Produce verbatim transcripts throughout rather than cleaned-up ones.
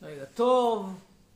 רגע, טוב.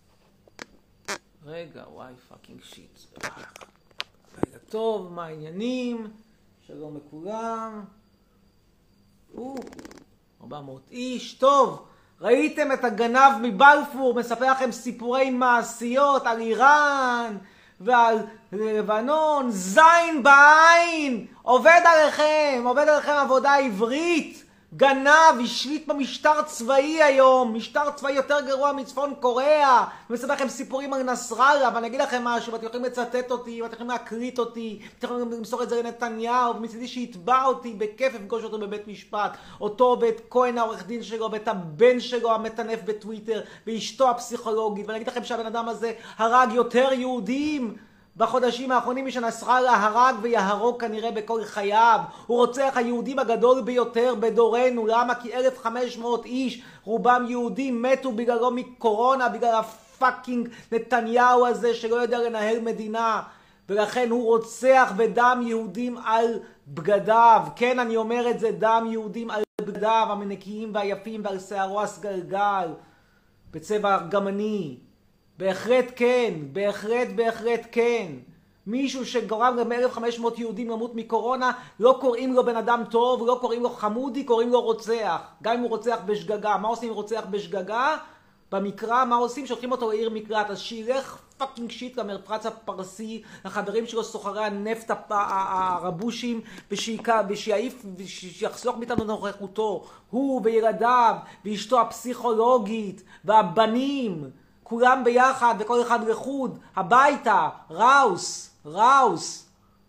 רגע, וואי, פאקינג שיט. רגע, טוב, מה העניינים? שלום לכולם. או, ארבע מאות איש, טוב. ראיתם את הגנב מבלפור, מספר לכם סיפורי מעשיות על איראן ועל לבנון, זין בעין, עובד עליכם, עובד עליכם עבודה עברית, גנב, השליט במשטר צבאי היום, משטר צבאי יותר גרוע מצפון קוריאה, ומספר לכם סיפורים על נסראללה, ואני אגיד לכם משהו, ואתם יכולים לצטט אותי, ואתם יכולים להקליט אותי, ואתם יכולים למסור את זה לנתניהו, ומצידי שיתבע אותי בכיף לפגוש אותו בבית משפט, אותו ואת כהן העורך דין שלו, ואת הבן שלו המטנף בטוויטר, ואשתו הפסיכולוגית, ואני אגיד לכם שהבן אדם הזה הרג יותר יהודים, בחודשים האחרונים שנסראללה הרג ויהרוג כנראה בכל חייו. הוא רוצח היהודים הגדול ביותר בדורנו. למה? כי אלף וחמש מאות איש, רובם יהודים, מתו בגללו מקורונה, בגלל הפאקינג נתניהו הזה שלא יודע לנהל מדינה. ולכן הוא רוצח בדם יהודים על בגדיו. כן, אני אומר את זה, דם יהודים על בגדיו, המנקיים והיפים ועל שערו הסגלגל, בצבע ארגמני. בהחלט כן, בהחלט בהחלט כן. מישהו שגורם ל-אלף וחמש מאות יהודים למות מקורונה, לא קוראים לו בן אדם טוב, לא קוראים לו חמודי, קוראים לו רוצח. גם אם הוא רוצח בשגגה. מה עושים אם רוצח בשגגה? במקרא, מה עושים? שולחים אותו לעיר מקלט. אז שילך פאקינג שיט למפרץ הפרסי, לחברים שלו סוחרי הנפט הרבושים, ושיעיף, ושיחסוך מאיתנו נוכחותו. הוא וילדיו, ואשתו הפסיכולוגית, והבנים. כולם ביחד וכל אחד לחוד, הביתה, ראוס, ראוס.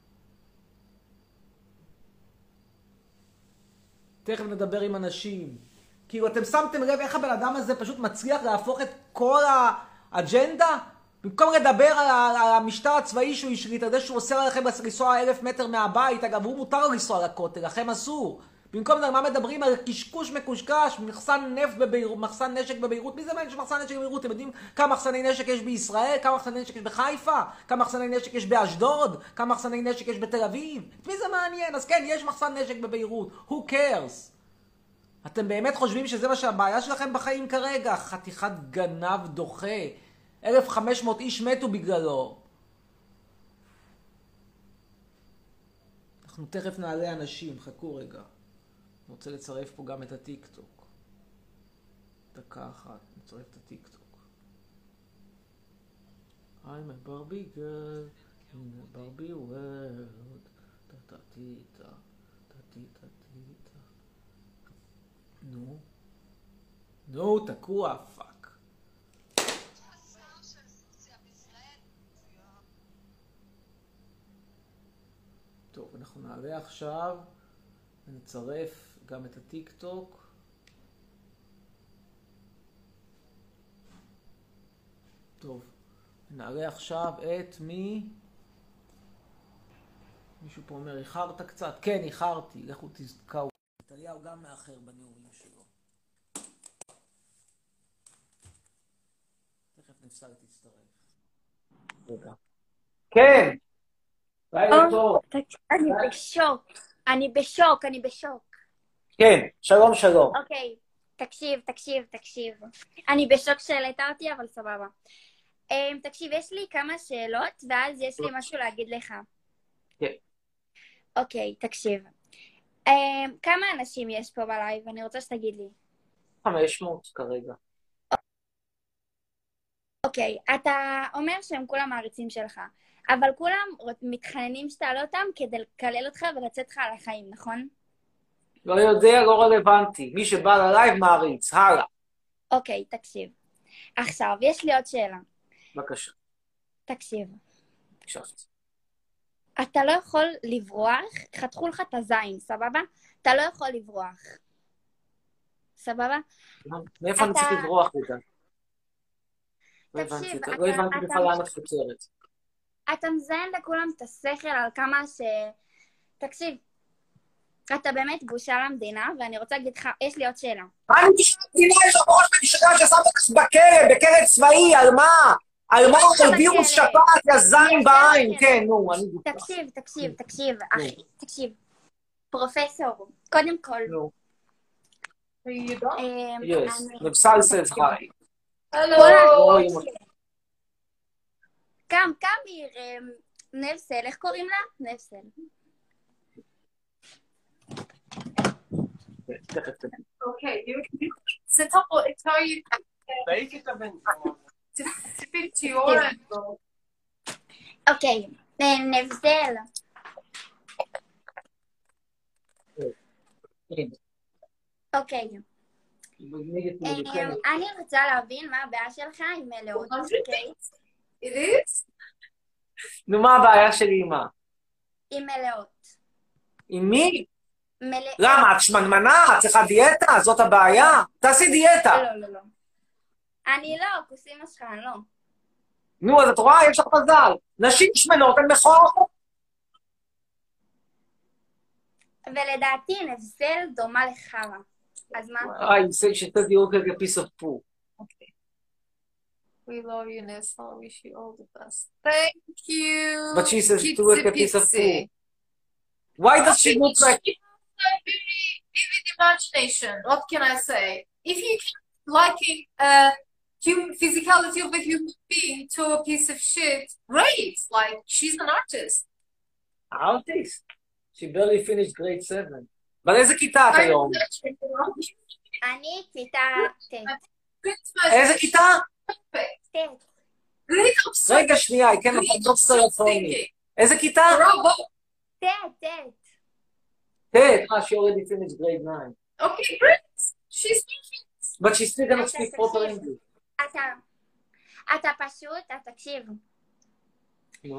תכף נדבר עם אנשים. כאילו אתם שמתם לב איך הבן אדם הזה פשוט מצליח להפוך את כל האג'נדה? במקום לדבר על, על המשטר הצבאי שהוא השליט, על זה שהוא אוסר עליכם לנסוע אלף מטר מהבית, אגב הוא מותר לו לנסוע לכותל, לכם אסור. במקום זה, מה מדברים על קשקוש מקושקש, מחסן נפט בביירות, מחסן נשק בביירות? מי זה מעניין שמחסן נשק בביירות? אתם יודעים כמה מחסני נשק יש בישראל? כמה מחסני נשק יש בחיפה? כמה מחסני נשק יש באשדוד? כמה מחסני נשק יש בתל אביב? את מי זה מעניין? אז כן, יש מחסן נשק בביירות. Who cares? אתם באמת חושבים שזה מה שהבעיה שלכם בחיים כרגע? חתיכת גנב דוחה. אלף וחמש מאות איש מתו בגללו. אנחנו תכף נעלה אנשים, חכו רגע. אני רוצה לצרף פה גם את הטיק טוק. דקה אחת, נצרף את הטיק טוק. I'm a Barbie girl in a Barbie world. טה-טה-טה-טה, טה-טה-טה-טה. נו. נו, תקוע, פאק. טוב, אנחנו נעלה עכשיו. נצרף גם את הטיק טוק. טוב, נעלה עכשיו את מי? מישהו פה אומר, איחרת קצת? כן, איחרתי, לכו תזכרו. נתניהו גם מאחר בנאומים שלו. תכף נפסל תצטרף. רגע. כן! לילה טוב. אני בשוק. אני בשוק, אני בשוק. כן, שלום שלום. אוקיי, תקשיב, תקשיב, תקשיב. אני בשוק שהעלית אותי, אבל סבבה. Um, תקשיב, יש לי כמה שאלות, ואז יש לי משהו להגיד לך. כן. אוקיי, תקשיב. Um, כמה אנשים יש פה בלייב? אני רוצה שתגיד לי. חמש מאות כרגע. אוקיי, אתה אומר שהם כולם מעריצים שלך, אבל כולם מתחננים שתעלה אותם כדי לקלל אותך ולצאת לך על החיים, נכון? לא יודע, לא רלוונטי. מי שבא ללייב מעריץ, הלאה. אוקיי, תקשיב. עכשיו, יש לי עוד שאלה. בבקשה. תקשיב. הקשבתי. אתה לא יכול לברוח, חתכו לך את הזין, סבבה? אתה לא יכול לברוח. סבבה? מאיפה אני צריך לברוח בגלל? לא תקשיב, הבנתי, אתה- לא הבנתי אתה- בכלל לאן את חוצרת. אתה מזיין לכולם את השכל על כמה ש... תקשיב, אתה באמת בושה למדינה, ואני רוצה להגיד לך, יש לי עוד שאלה. מה אני בשביל המדינה? יש לך ראש במשגע ששמת אותך בכלא, בכלא צבאי, על מה? על מה? יש לך על וירוס בכלא. שפעת, יא זין יש בעין. לך בכלא. כן, נו, אני בושה. תקשיב, תקשיב, תקשיב, אחי, תקשיב. פרופסור, קודם כל, נו. אמ, Yes, אני- Nepsal says hi. הלו. קם, קם, נבסל, איך קוראים לה? נבסל. אוקיי, זה טוב, תראי, תפיל תיאור. אוקיי, נבסל. אוקיי. אני רוצה להבין מה הבעיה שלך עם מלאות, אוקיי? נו, מה הבעיה שלי עם מה? עם מלאות. עם מי? מלאות. למה? את שמנמנה? את צריכה דיאטה? זאת הבעיה? תעשי דיאטה. לא, לא, לא. אני לא, כוסים משך, אני לא. נו, אז את רואה? יש לך מזל. נשים שמנות, הן מכוערות. ולדעתי נבסל דומה לחרא. אז מה? I say she says you look like a piece of poo. Okay. We love you, Nessa. Wish you all the best. Thank you. But she says you look like a piece of Pizza. poo. Why does she look like... She has a very vivid imagination. What can I say? If you keep liking uh, human physicality of a human being to a piece of shit, great. Like, she's an artist. Artist? She barely finished grade seven. אבל איזה כיתה את היום? אני כיתה ט'. איזה כיתה? ט'. רגע שנייה, היא כן לא סרטוני. איזה כיתה? ט', ט'. ט', אה, she already finished grade nine. Okay, great. She's perfect. But she's still gonna speak proper English. אתה, אתה פשוט, אתה תקשיב. נו.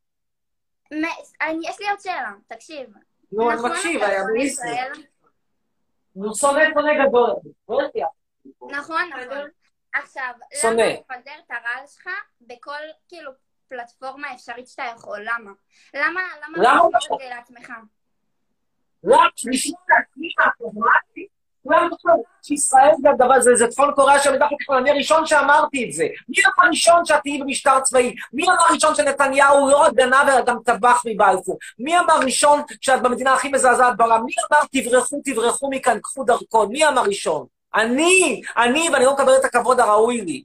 יש לי עוד שאלה, תקשיב. נו, אני מקשיב, היה בריסי. נו, שונא שונא גדול. נכון, נכון. עכשיו, שונא. למה לפזר את הרעל שלך בכל, כאילו, פלטפורמה אפשרית שאתה יכול? למה? למה? למה למה? אתה עושה את זה לעצמך? למה? לשמוע לעצמי, הפרוגרמטי? למה שישראל זה הדבר, זה צפון קוריאה שמדבר ככל, אני הראשון שאמרתי את זה. מי אמר הראשון שאת תהיי במשטר צבאי? מי אמר הראשון שנתניהו לא רק גנב אלא גם טבח מבלפור? מי אמר ראשון שאת במדינה הכי מזעזעת בעולם? מי אמר תברחו, תברחו מכאן, קחו דרכון? מי אמר ראשון? אני, אני, ואני לא מקבל את הכבוד הראוי לי.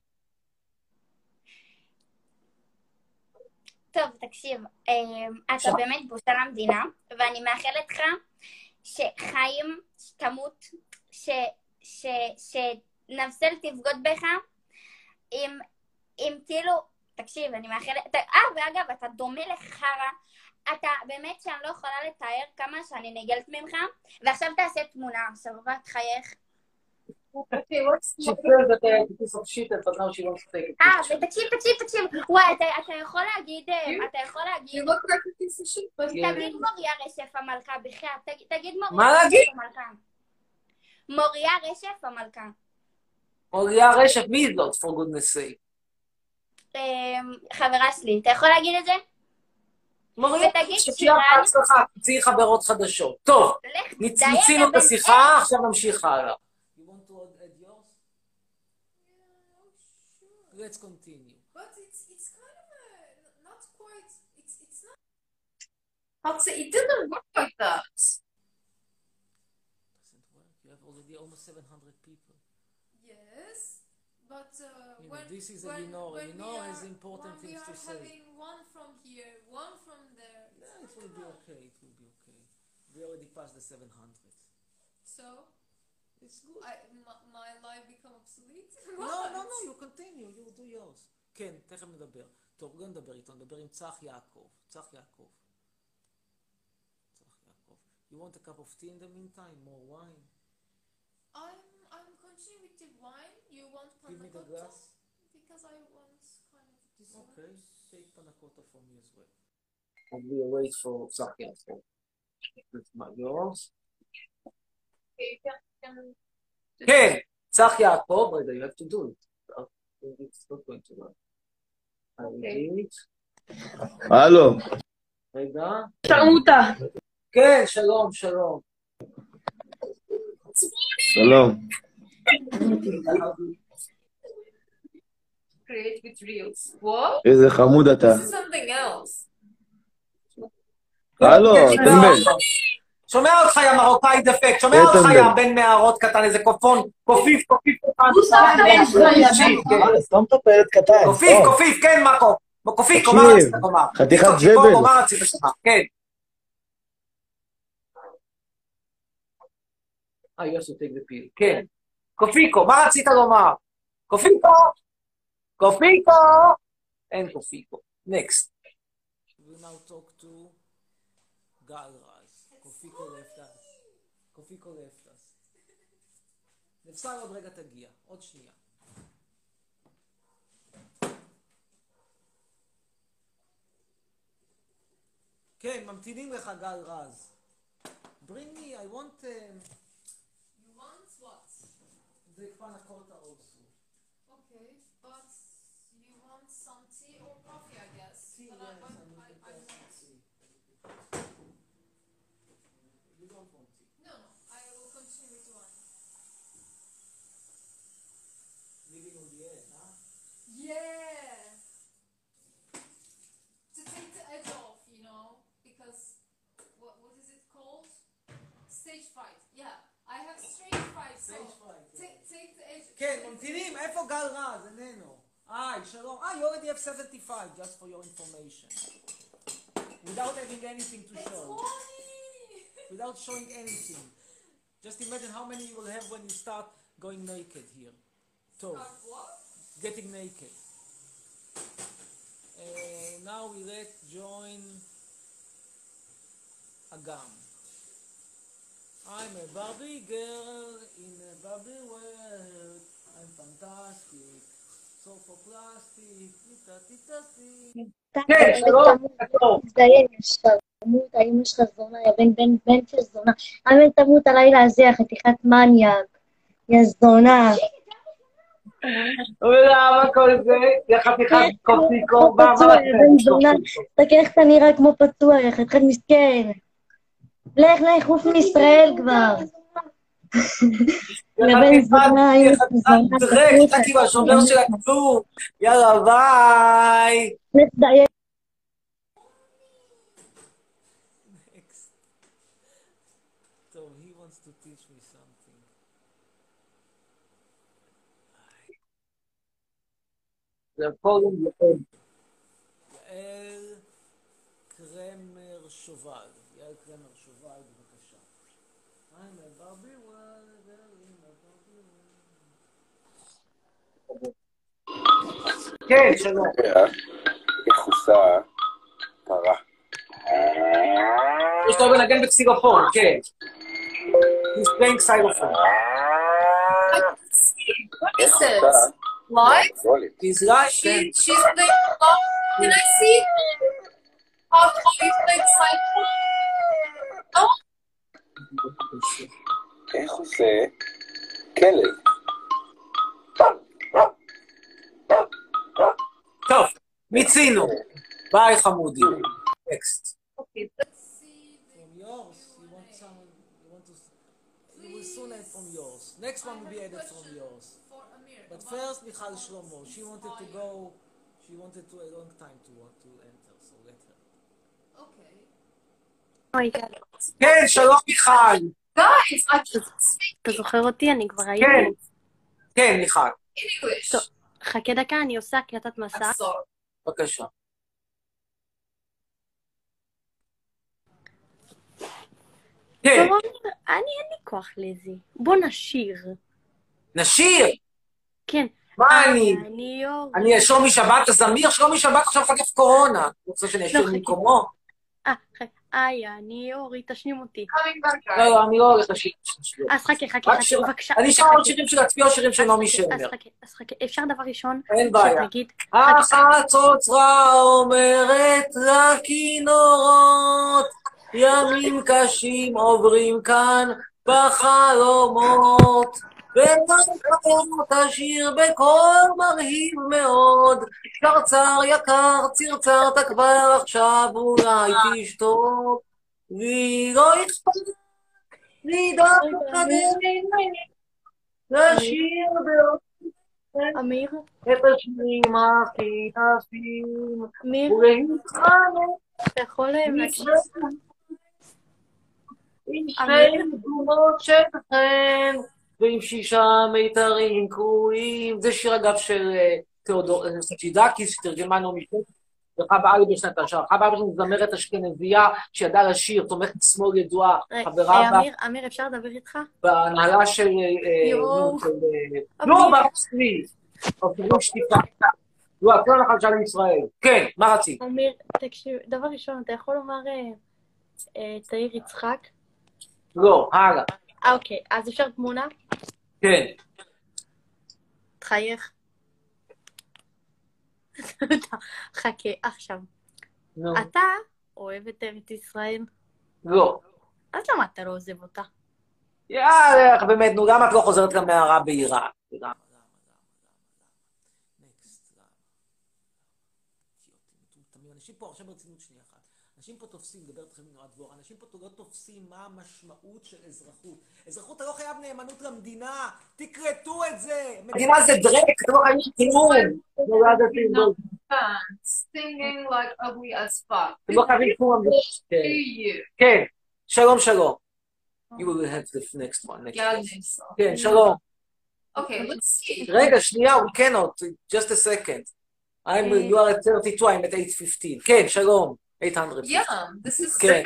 טוב, תקשיב, אתה באמת בושה למדינה, ואני מאחלת לך שחיים תמות, שנבסל תבגוד בך, אם כאילו, תקשיב, אני מאחלת, אה, ואגב, אתה דומה לחרא, אתה באמת שאני לא יכולה לתאר כמה שאני נגלת ממך, ועכשיו תעשה תמונה, עכשיו רק חייך. Okay, what's She says that I have a piece of shit, but now she wants to take a אה, picture. ותקשיב, תקשיב, תקשיב, וואי, אתה יכול להגיד, אתה יכול You להגיד, look like a piece of shit, but תגיד מוריה רשף המלכה, בכלל, תגיד מה מוריה להגיד? רשף המלכה. מוריה רשף המלכה. מוריה רשף, מי זאת, for goodness sake? חברה שלי, אתה יכול להגיד את זה? מוריה, ותגיד שתהיה שירן- בהצלחה, תמצאי חברות חדשות. טוב, לך, מיצינו את השיחה, עכשיו נמשיך הלאה. You want to add yours? Let's continue. But it's it's kind of a not quite. It's it's not. I'll say it didn't work like that. Doesn't work. You have already almost seven hundred people. Yes, but uh, You know, when this is a when, Lenore. when Lenore we has are, important when things we to are say. having one from here, one from there. it's Yeah, it not will be enough. okay. It will be okay. We already passed the seven hundred. So It's good. I my, my life become obsolete. No, no, no, you continue, you do yours. כן, תכף נדבר. טוב, לא נדבר איתו, נדבר עם צח יעקב. צח יעקב. צח יעקב. You want a cup of tea in the meantime? More wine? I'm I'm continuing with the wine. You want Give me panna the cotta? glass. Because I want kind of dessert. Okay, take panna cotta for me as well. And we wait for צח יעקב. That's my yours. Okay, you can, can כן, צח יעקב, רגע, you have to do it. It's not going to work. I will do it. הלו, רגע. שרמוטה. כן, שלום, שלום. שלום. create with reels. What? איזה חמוד אתה. This is something else. הלו, טמבל. שומע אותך, יא מרוקאי דפק, שומע איתן אותך, בן. יא בן מערות קטן, איזה קופון, קופיף, קופיף קטן. סתום את הפלט קטן, קופיף, סתום. קופיף, כן, מקו. קופיקו, מה תקשיב, רצית לומר? חתיכת קופיקו, זבל. מה רצית לומר? כן. אה, יוסו, take the pill. כן. קופיקו, מה רצית לומר? קופיקו! קופיקו! אין קופיקו. Next. We now talk to גל רז. קופיקו left us. קופיקו left us. נפסל עוד רגע תגיע. עוד שנייה. כן, ממתינים לך גל רז. Bring me, I want... Um, You want what? the panna cotta also. Okay, but you want some tea or coffee, I guess. Tea, But I, yes, but I'm I, looking I for want. tea. You don't want tea. No, no, I will continue with one. Living on the edge, huh? Yeah! To take the edge off, you know, because what what is it called? Stage fright. Yeah, I have stage fright. So Stage fright, yeah. take take the edge. כן, ממתינים, איפה גל רז? איננו. היי, שלום. אה, you already have seventy-five, just for your information. Without having anything to It's show. funny. Without showing anything. Just imagine how many you will have when you start going naked here. טוב, Start what? getting naked. Uh, now we let join Agam. I'm a Barbie girl in a Barbie world. I'm fantastic. So for plastic. טיטה טיטה טיטה. כן, שלום. תזדיין, שרמות, האמא שלך זונה, יא בן בן בן של זונה. אמן תמות הלילה הזה, חתיכת מניאק. יא זונה. ולמה כל זה? יא חתיכת קופיקו. כמו פצוע, יא בן זונה. תסתכל איך אתה נראה כמו פצוע, יא חתיכת מסכן. לך, לך, חוף מישראל כבר. יא בן זונה, אמא שלך זונה. דרק, אתה כאילו השומר של הכלום. יאללה, ביי. תזדיין. Next. So he wants to teach me something. They're calling יעל קרמר שובל. יעל קרמר שובל, בבקשה. I'm a Barbie world, I'm a Barbie world. כן, שלום. איך עושה פרה? יש לו בנגן בקסילופון, כן. He's playing xylophone. What is it? What? He's like, She she's playing. Oh, can I see how how you play the cycle? Oh, איך עושה כלב? טוב, מיצינו. ביי חמודי. Next. okay. Let's see. From yours, you want someone, you want to, you will soon add from yours. Next one will be added from yours. For Amir. But first, Michal Shlomo, she wanted to go, she wanted to a long time to want to enter, so let her. Okay. אוי, גל, כן, שלום מיכל. Guys, I can't speak אתה זוכר אותי? אני כבר הייתי. כן, כן, מיכל. English. טוב. חכה דקה, אני עושה הקלטת מסע. I'm sorry. בבקשה. כן, טוב, אני אין לי כוח לזה. בוא נשיר. נשיר. כן. מה אני? אני יור. אני שלומי שבת הזמיר? שלומי שבת עכשיו חגף קורונה. אני רוצה שאני אשיר לא, חכי. במקומו? אה, חכה. איי, אני אורי, תשנים אותי. Coming back, לא, guys. לא, אני לא הולך לשיר. אז חכה, חכה, רק חכה, שיר- בבקשה. אני אשאר עוד שירים של עצמי או שירים של נעמי אז שמר. חכה, אז חכה. אפשר דבר ראשון? אין בעיה. שתגיד, החצוצרה אומרת לכינורות, ימים קשים עוברים כאן בחלומות, ונקראת השיר בקול מרהיב מאוד, קרצר יקר צרצרת כבר עכשיו אולי תשתוק, לי לא אכפת, לי דווקא לשיר בעוד אמיר, את השירים הכי יפים, אמיר, ולהתחנן אתה יכול להקשיב? עם שני תגובות שלכם, ועם שישה מיתרים קרועים. זה שיר אגב של תיאודור סצ'ידקיס, שתרגמה נעמי שפר, וחווה אלברשטיין בשנת השער. חווה אלברשטיין זמרת אשכנזייה שידעה לשיר, תומכת שמאל ידועה, חברה בה... אמיר, אמיר, אפשר לדבר איתך? בהנהלה של... יואו. לא, ברצלי. אוקיי, לא שתיקה. לא, הכל החדשה לישראל. כן, מה רצית? אמיר, תקשיב, דבר ראשון, אתה יכול לומר תאיר יצחק? לא, הלאה. אוקיי, אז אפשר תמונה? כן. תחייך. חכה, עכשיו. אתה אוהב את ארץ ישראל? לא. אז למה אתה לא עוזב אותה? יאללה, באמת, נו, למה את לא חוזרת למערה בעיראק? אנשים פה, עכשיו ברצינות שנייה אחת, אנשים פה תופסים, דבר אתכם מנועד דבור, אנשים פה לא תופסים מה המשמעות של אזרחות. אזרחות, אתה לא חייב נאמנות למדינה, תקרטו את זה! מדינה זה דרק, אתה לא חייב כלום! Singing like ugly as fuck. אתה לא חייב כלום. כן, שלום שלום. You will have the next one. כן, שלום. Okay, let's see. רגע, שנייה, we cannot, just a second. I'm, you are at thirty-two, I'm at eight fifteen. כן, שלום. eight hundred. Yeah, this is... כן.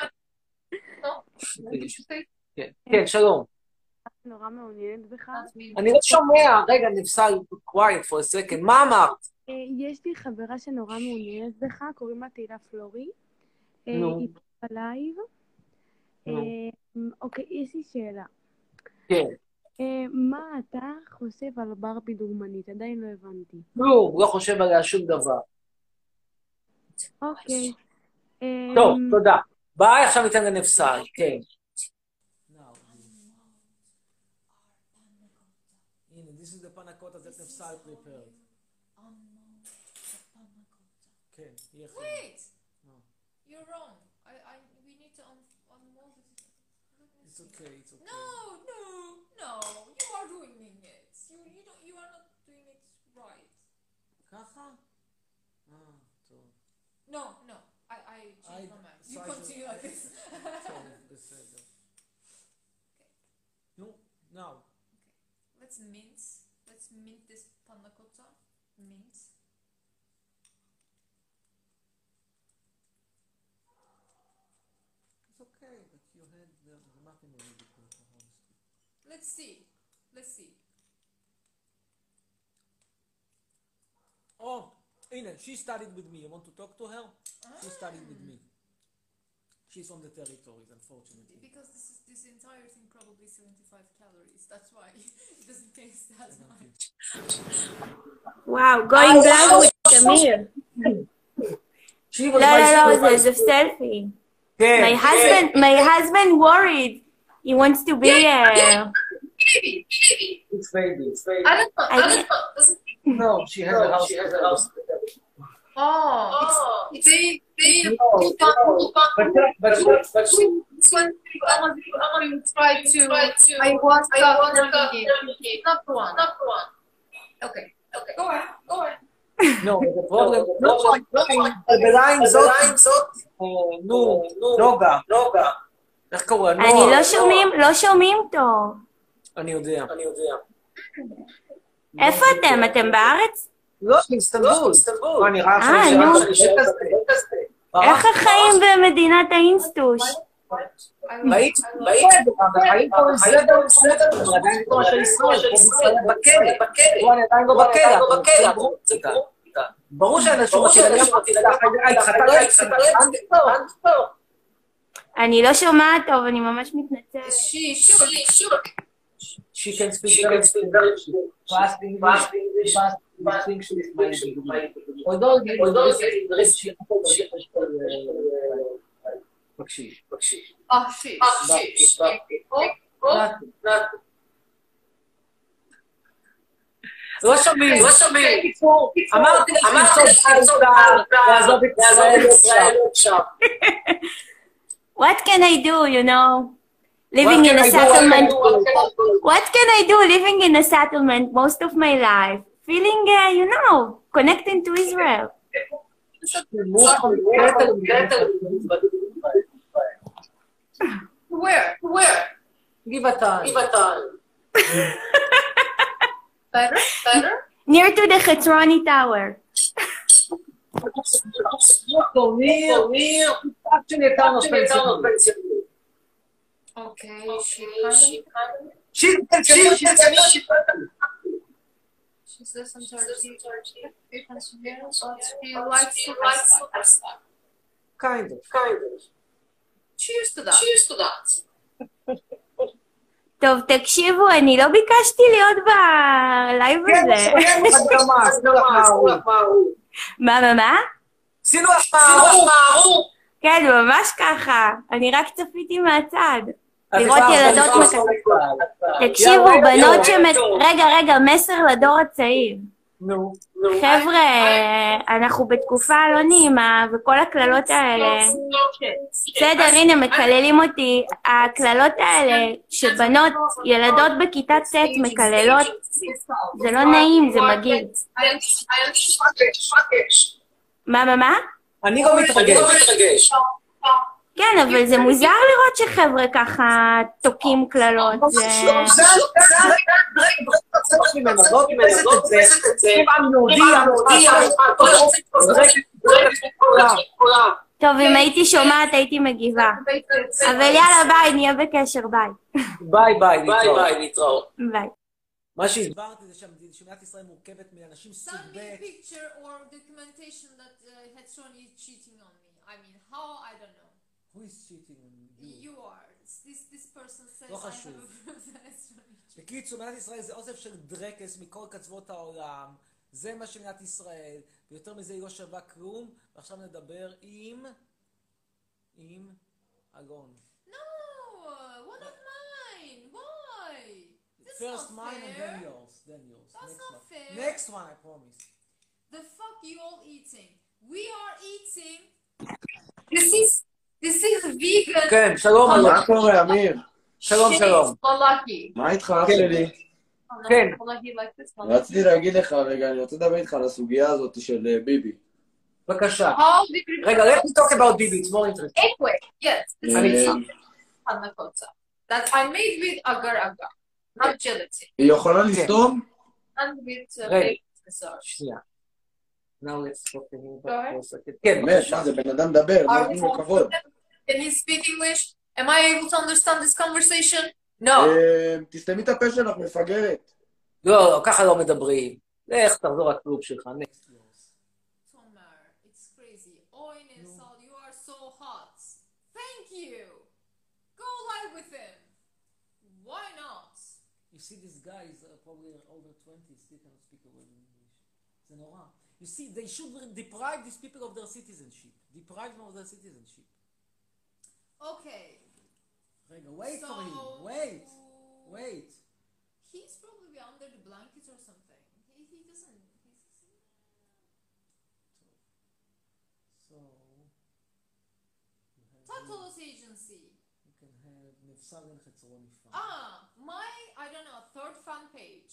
כן, שלום. נורא מעוניינת בך. אני לא שומע, רגע, נפסל, quiet for a second. מה אמרת? יש לי חברה שנורא מעוניינת בך, קוראים לה תהילה פלורי. נו. היא פה בלייב. אוקיי, יש לי שאלה. כן. מה אתה חושב על ברבי דוגמנית? עדיין לא הבנתי. לא, לא חושב עליה שום דבר. אוקיי. טוב, תודה. ביי, עכשיו ניתן לנפסל, כן. הנה, this is the panna cotta that נפסל prepared. כן, יחד. Wait! You're wrong. I, I, we need to un unmold it. It's okay, it's okay. No, no, no. You are ruining it. You, you don't, you are not doing it right. ככה? אה, טוב. No, no. I, I changed my mind. You continue like this. טוב, בסדר. נו, now. Let's mince. Let's mint this panna cotta. Mince. It's okay, but you had the, the muffin already cooked, honestly. Let's see. Let's see. Oh, Ina, she studied with me. You want to talk to her? Ah. She studied with me. She's on the territories, unfortunately. Because this is this entire thing probably seventy-five calories. That's why it doesn't taste that much. Wow, going live with Amir. She was No, my no, no, student. there's a selfie. Yeah, My yeah. husband, my husband worried. He wants to be a. Baby, baby. It's baby, it's baby. I don't know. I don't know. Doesn't No, she has a house. She has a house. Oh, it's, it's they they No, you can't no. you can't But that, but she, but she, It's when I'm going to try to I want to not the one not the one. Okay, okay. Go on, go on. no, the problem, no, בליים זאת, נו, נוגה, נוגה. איך קורא? אני לא שומעים, לא שומעים טוב. אני יודע. אני יודע. איפה אתם? אתם בארץ? לא, באיסטנבול. מה, נראה אה, נו. איך החיים במדינת האינסטוש? ראית? ראית? החיים פה בסדר, בסדר, אבל עדיין לא של ישראל, פה בישראל בכלא. פה אני עדיין לא בכלא. ברור שאנשים מתחילים אני לא שומעת טוב, אני ממש מתנצלת. She she she She can speak very good. Fast English, fast English is my language. Although she בקשיש, בקשיש. oh she she oh לא שומעים, לא שומעים. אמרתי לך, אמרתי לך, לעזוב את ישראל עכשיו. What can I do, you know? Living in a settlement. What can I do living in a settlement most of my life? Feeling, uh, you know, connecting to Israel. Where? Where? גבעתיים. גבעתיים. Better? Better? Near to the Chetroni Tower. דוקטור ניר, ניר, קצת שנתן אופנסיבי. Okay, she kind of... שיט, שיט, שיט, שיט. She's listened to her but she likes to lifestyle. Kind of. Kind of. Cheers to that. Cheers to that. טוב, תקשיבו, אני לא ביקשתי להיות בלייב הזה. מה, מה, מה? עשינו החמרו. כן, ממש ככה. אני רק צפיתי מהצד. לראות ילדות מקטנות. תקשיבו, בנות שמת... רגע, רגע, מסר לדור הצעיר. נו. חבר'ה, אנחנו בתקופה לא נעימה, וכל הקללות האלה... בסדר, הנה, מקללים אותי. הקללות האלה, שבנות, ילדות בכיתה ט' מקללות, זה לא נעים, זה מגעיל. מה, מה, מה? אני לא מתרגש. כן, אבל זה מוזר לראות שחבר'ה ככה תוקים קללות. טוב, אם הייתי שומעת הייתי מגיבה. אבל יאללה, ביי, נהיה בקשר, ביי. ביי ביי, נתראות. ביי. מה שהסברתי זה שמדינת ישראל מורכבת מאנשים סוג Send me ב'. a picture or documentation that uh, Hetzroni is cheating on me. I mean, how? I don't know. Who is cheating on you? You are. This this person says לא I have חשוב. a proof that Hetzroni is cheating. בקיצור, מדינת ישראל זה אוסף של דרקס מכל קצוות העולם. זה מה שמדינת ישראל, ויותר מזה היא לא שווה כלום. ועכשיו נדבר עם... עם... אלון. No, uh, one of mine. Why? That's First not mine and fair. then yours. Then yours. That's Next not one. fair. Next one, I promise. The fuck you all eating? We are eating. This is this is vegan. כן, שלום. מה קורה, אמיר? שלום, שלום. Malaki. מה איתך, אח שלי? כן. Malaki like this one. רציתי להגיד לך, רגע, אני רוצה לדבר איתך על הסוגיה הזאת של אה, ביבי. בבקשה. How did you... רגע, let's talk about Bibi, it's more interesting. Anyway, yes, this אני is איתך. panna cotta that I made with agar agar, not gelatin, היא יכולה לסתום? and with uh, Right. baked massage. שנייה. Now let's talk to him Go ahead. for a second. כן, באמת, בבקשה. מה זה, בן אדם מדבר, לא Are נותנים לו we כבוד. Can he speak English? Am I able to understand this conversation? No. אה, תסתמי את הפה שלך, מפגרת. לא, לא, ככה לא מדברים. לך, תחזור לכלוב שלך. Next. Tomer, it's crazy. Oh, Inesal, you are so hot. Thank you. Go live with him. Why not? You see, this guy is uh, probably over twenty, still cannot speak a word in English. זה נורא. You see, they should deprive these people of their citizenship. Deprive them of their citizenship. Okay. רגע, wait for him. So- Wait. Wait. He's probably under the blankets or something. He, he doesn't. He's, So, you have Tatolos agency. you can have נפסל חצרוני fan. Ah, my, I don't know, third fan page.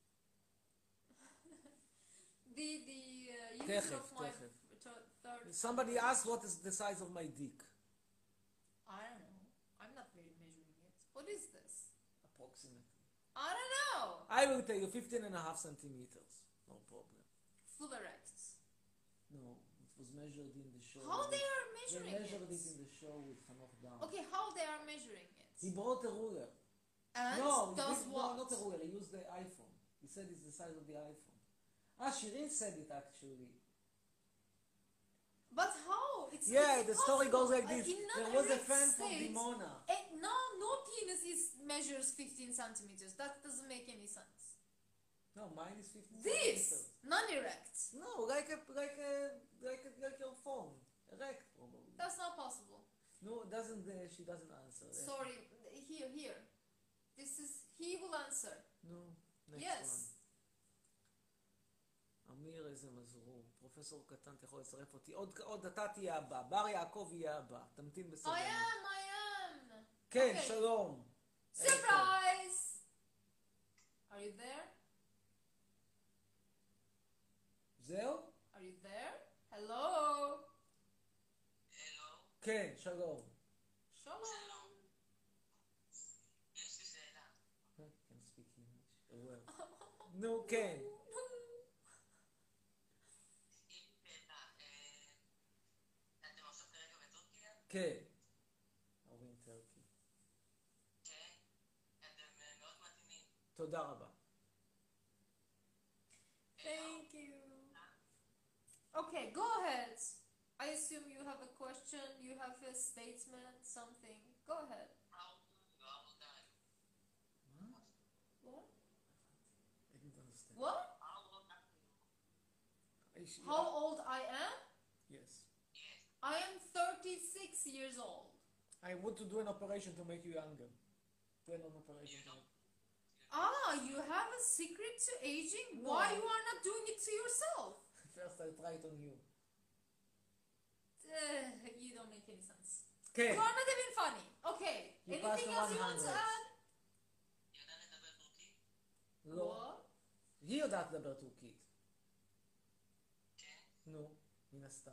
the the uh, user תכף, of my תכף. th- third. Somebody asked what is the size of my dick. I don't know. I'm not very measuring it. What is this? Approximately. I don't know. I will tell you fifteen and a half centimeters. No problem. Full erect. No, it was measured in the show. How they are They measuring measured it? it in the show with Hanoch Dam. Okay, how they are measuring it? He brought a ruler. And no, he does did- what? no, not a ruler. He used the iPhone. He said it's the size of the iPhone. Ah, Shirin said it actually. But how? It's Yeah, it's the story goes like impossible. this. In There was a non-erect fan from state, Dimona. eh, no, no penis is measures fifteen centimeters. That doesn't make any sense. No, mine is fifteen This centimeters. non-erect. No, like a like a like a, like your phone, erect probably. That's not possible. No, doesn't uh, she doesn't answer. Sorry, here, here. This is he will answer. No, next Yes. one. אמיר, איזה מזרור. פרופסור קטן, אתה יכול לצרף אותי. עוד, עוד אתה תהיה הבא. בר יעקב יהיה הבא. תמתין I בסבלנות. am, I am. כן, Okay. שלום. Surprise! Are you there? זהו? Are you there? Hello? כן, שלום. Shalom. נו, כן. כן. אוהבים טורקי. תודה רבה. Thank you. Okay, go ahead. I assume you have a question, you have a statement, something. Go ahead. What? I didn't understand. What? I- How old I am? Yes. I am thirty-six years old. I want to do an operation to make you younger. Do an operation to make... Ah, you have a secret to aging? No. Why you are not doing it to yourself? First I try it on you. Uh, you don't make any sense. כן. You are not even funny. Okay. You Anything passed the else you want to one hundred. add? לא. What? היא יודעת לדבר טורקית. נו, מן הסתם.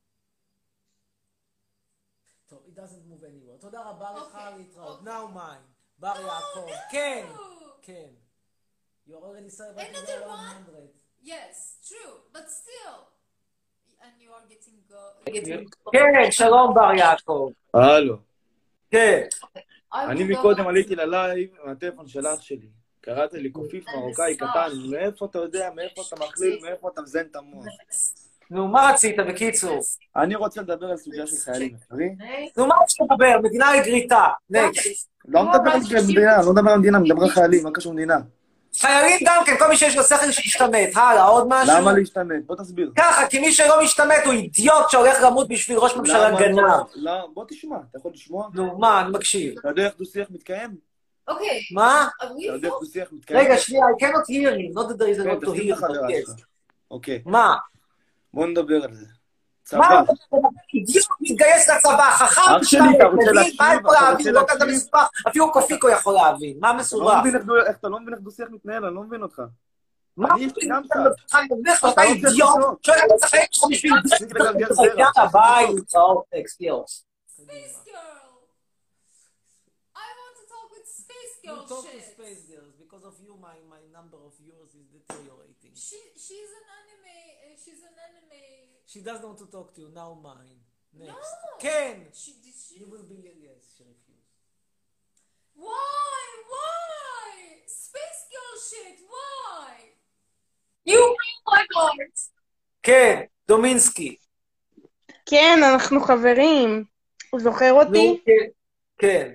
טוב, it doesn't move anywhere. תודה רבה לך אוקיי, להתראות. אוקיי. Now mine. בר יעקב. no. כן. כן. You already celebrated Another the one? one hundred. Yes, true, but still. And you are getting go. כן, שלום בר יעקב. הלו, כן. אני מקודם עליתי ללייב מהטלפון של אח שלי. קראת לי קופיף מרוקאי קטן, מאיפה אתה יודע, מאיפה אתה מכליל, מאיפה אתה מזיין את המוח? נו, מה רצית בקיצור? אני רוצה לדבר על סוגיה של חיילים, מבין? נו, מה רצית לדבר? מדינה לגריטה. נקסט. לא מדבר על מדינה, לא מדבר על מדינה, מדבר על חיילים, מה קשור מדינה? חיילים גם כן, כל מי שיש לו שכל שישתמט. הלאה, עוד משהו? למה להשתמט? בוא תסביר. ככה, כי מי שלא משתמט הוא אידיוט שהולך למות בשביל ראש ממשלה למה גנב. לא? לא, בוא תשמע, אתה יכול לשמוע? נו, מה, אני מקשיב. אתה יודע איך דו-שיח מתקיים? Okay. מה? Are אתה we יודע איך full? דו-שיח מתקיים? רגע, שנייה, I cannot hear you, not that there is a כן, lot to תשים את hear, החברה but שלך. yes. אוקיי, מה? בוא נדבר על זה. מה? צבא. אידיוט מתגייס לצבא, חכם, אח שלי, אתה רוצה מבין, להקשיב? מה יכול אתה להבין? רוצה לא כזה להקשיב? מספר, אפילו קופיקו יכול להבין. מה אתה לא מסובך? מבין איך דו- איך- אתה לא מבין איך דו-שיח מתנהל, אני לא מבין אותך. מה? אני יש לי גם אתה קצת. אתה אתה רוצה אידיוט, לשאול? שואל אתה צריך לך בשביל... תפסיק לגלגל זרע. יאללה, ביי, להתראות, טקסט, יואו. Space girl. I want to talk with space You girl talk to shit. space girls. Because of you, my, my number of yours is deteriorating. She she's an anime. Uh, she's an anime. She doesn't want to talk to you. Now mine. Next. No. Ken! She did she? You will be... Yes, she refused. Why? Why? Space girl shit. Why? You my heart. כן, דומינסקי. כן, אנחנו חברים. הוא זוכר אותי? נו, כן. כן.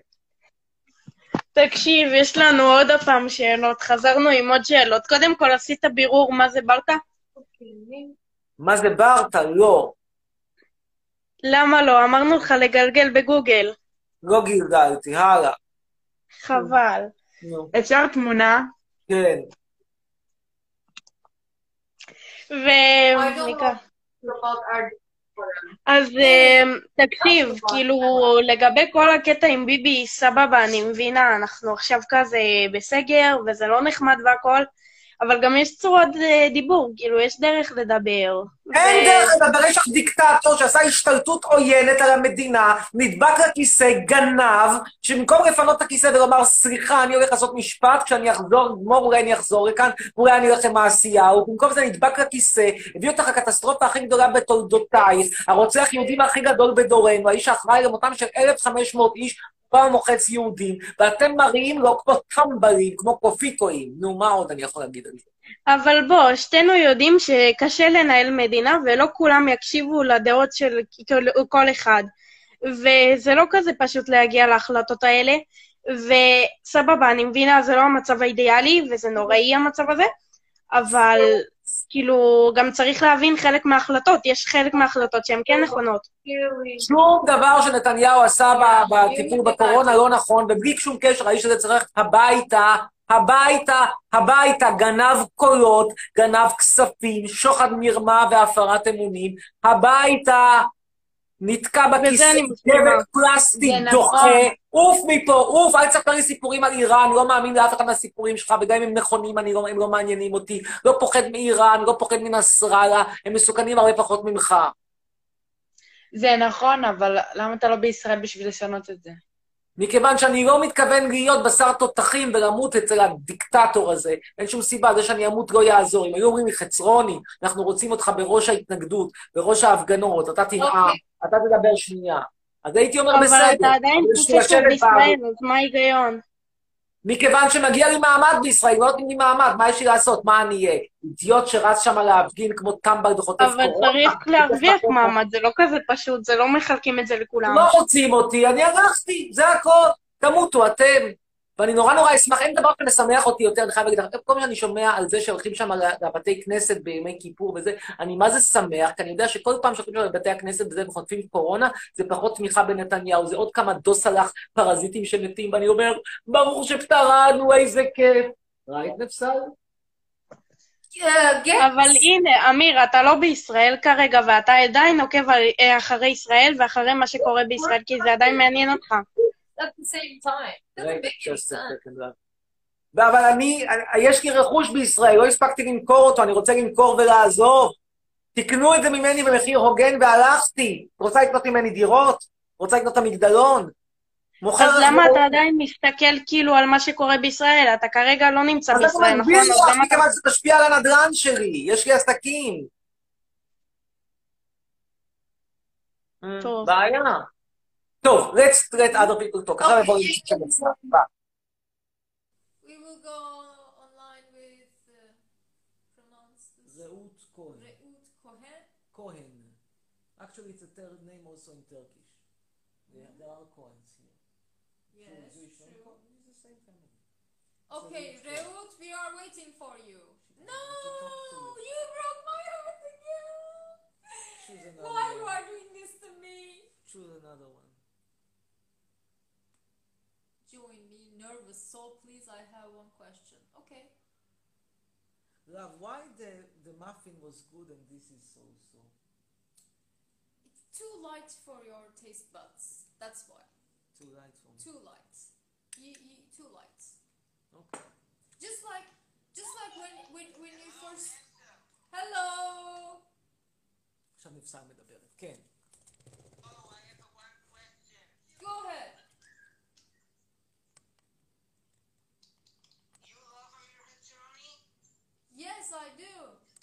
תקשיב, יש לנו עוד הפעם שאלות. חזרנו עם עוד שאלות. קודם כל, עשית בירור מה זה ברטה? מה זה ברטה? לא. למה לא? אמרנו לך לגלגל בגוגל. לא גלגלתי, הלאה. חבל. נו. אפשר תמונה? כן. I don't וניקח. know about our. אז אה, תקשיב, כאילו, לגבי כל הקטע עם ביבי, סבבה, אני מבינה, אנחנו עכשיו כזה בסגר, וזה לא נחמד והכל, אבל גם יש צורות אה, דיבור, כאילו, יש דרך לדבר. אין ו- דרך לדבר, יש לך דיקטטור שעשה השתלטות עוינת על המדינה, נדבק לכיסא, גנב, שבמקום לפנות את הכיסא ולומר, סליחה, אני הולך לעשות משפט, כשאני אחזור, גמור, אולי אני אחזור לכאן, אולי אני הולך למעשיהו, במקום זה נדבק לכיסא, הביא אותך לקטסטרופה הכי גדולה בתולדותייך, הרוצח יהודים הכי גדול בדורנו, האיש האחראי למותם של אלף וחמש מאות איש, פעם מוחץ יהודים, ואתם מראים לא כמו טמבלים, כמו קופיקואים. נו, מה עוד אני יכול להגיד על זה? אבל בוא, שתינו יודעים שקשה לנהל מדינה, ולא כולם יקשיבו לדעות של כל, כל אחד. וזה לא כזה פשוט להגיע להחלטות האלה, וסבבה, אני מבינה, זה לא המצב האידיאלי, וזה נוראי המצב הזה, אבל כאילו, גם צריך להבין חלק מההחלטות, יש חלק מההחלטות שהן כן נכונות. שום דבר שנתניהו עשה ב- בטיפול בקורונה לא נכון, ובלי שום קשר, האיש הזה צריך הביתה, הביתה, הביתה, גנב קולות, גנב כספים, שוחד מרמה והפרת אמונים, הביתה, נתקע בכיסא, אני מסכימה. דבק פלסטיק, זה דוחה, נכון. עוף מפה, עוף, אל תספר לי סיפורים על איראן, אני לא מאמין לאף אחד מהסיפורים שלך, וגם אם הם נכונים, אני לא, הם לא מעניינים אותי, לא פוחד מאיראן, לא פוחד מנסראללה, הם מסוכנים הרבה פחות ממך. זה נכון, אבל למה אתה לא בישראל בשביל לשנות את זה? מכיוון שאני לא מתכוון להיות בשר תותחים ולמות אצל הדיקטטור הזה. אין שום סיבה, זה שאני אמות לא יעזור. אם היו אומרים לי, חצרוני, אנחנו רוצים אותך בראש ההתנגדות, בראש ההפגנות, אתה תנאם, אתה תדבר שנייה. אז הייתי אומר בסדר. אבל אתה עדיין חושב בישראל, אז מה ההיגיון? מכיוון שמגיע לי מעמד בישראל, לא נותנים לי מעמד, מה יש לי לעשות? מה אני אהיה? אידיוט שרץ שם להפגין כמו טמבל וחוטף קורונה? אבל צריך להרוויח מעמד, זה לא כזה פשוט, זה לא מחלקים את זה לכולם. לא רוצים אותי, אני הלכתי, זה הכל. תמותו, אתם. ואני נורא נורא אשמח, אין דבר שמשמח אותי יותר, אני חייב להגיד לך, כל פעם שאני שומע על זה שהולכים שם לבתי כנסת בימי כיפור וזה, אני מה זה שמח, כי אני יודע שכל פעם שהולכים שם לבתי הכנסת וזה וחוטפים קורונה, זה פחות תמיכה בנתניהו, זה עוד כמה דוסלח פרזיטים שמתים, ואני אומר, ברור שפטרנו, איזה כיף. ראית נפסל? אבל הנה, אמיר, אתה לא בישראל כרגע, ואתה עדיין עוקב אחרי ישראל ואחרי מה שקורה בישראל, כי זה עדיין מעניין אותך. At the same time. אבל אני, יש לי רכוש בישראל, לא הספקתי למכור אותו, אני רוצה למכור ולעזוב. תקנו את זה ממני במחיר הוגן והלכתי. רוצה לקנות ממני דירות? רוצה לקנות את המגדלון? אז למה אתה עדיין מסתכל כאילו על מה שקורה בישראל? אתה כרגע לא נמצא בישראל, נכון? אז למה אני מכיוון שזה תשפיע על הנדל"ן שלי, יש לי עסקים. טוב. בעיה. טוב, let's let other people talk. עכשיו בואו נשאר את זה. We will go online with uh, pronounce this. רעות כהן. רעות כהן. כהן. Actually, it's a third name also in Turkish. There, there are Cohens here. Yes, Jewish and true. Cohen is the same family. Okay, Reut, we are waiting for you. No, you broke my heart again. Choose another Why you one. are doing this to me? Choose another one. Join me, nervous soul, please. I have one question. Okay. Love, why the, the muffin was good and this is so-so? It's too light for your taste buds. That's why. Too light for me. Too light. You, you, too light. Okay. Just like, just like when, when, when you first. Hello. עכשיו נפסל מדברת. כן. Go ahead. Yes, I do.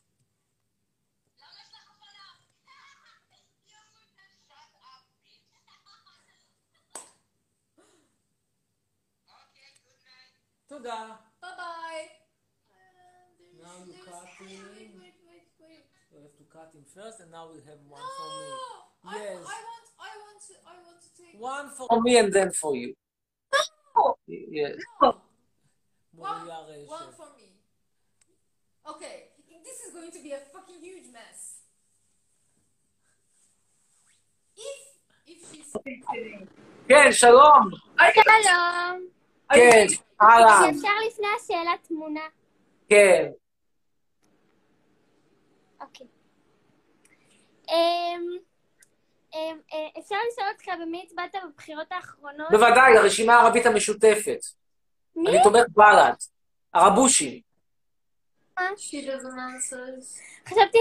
תודה. Bye bye. Now you cut Wait, him. wait, wait, wait, wait. You have to cut him first and now we'll have one No, for me. I, Yes. I want, I want to, I want to take. One for me and then for you. No. Yes. No. One, מוריה רשת. one for me. Okay, this is going to be a fucking huge mess. If, if she's. כן, שלום. שלום. כן, אהלן. אפשר לפני השאלה תמונה. כן. אוקיי. אמ, אמ, אה, אפשר לשאול אותך במי הצבעת בבחירות האחרונות? בוודאי, הרשימה הערבית המשותפת. מי? אני תומך בל"ד. הרבושי. She doesn't answer. חשבתי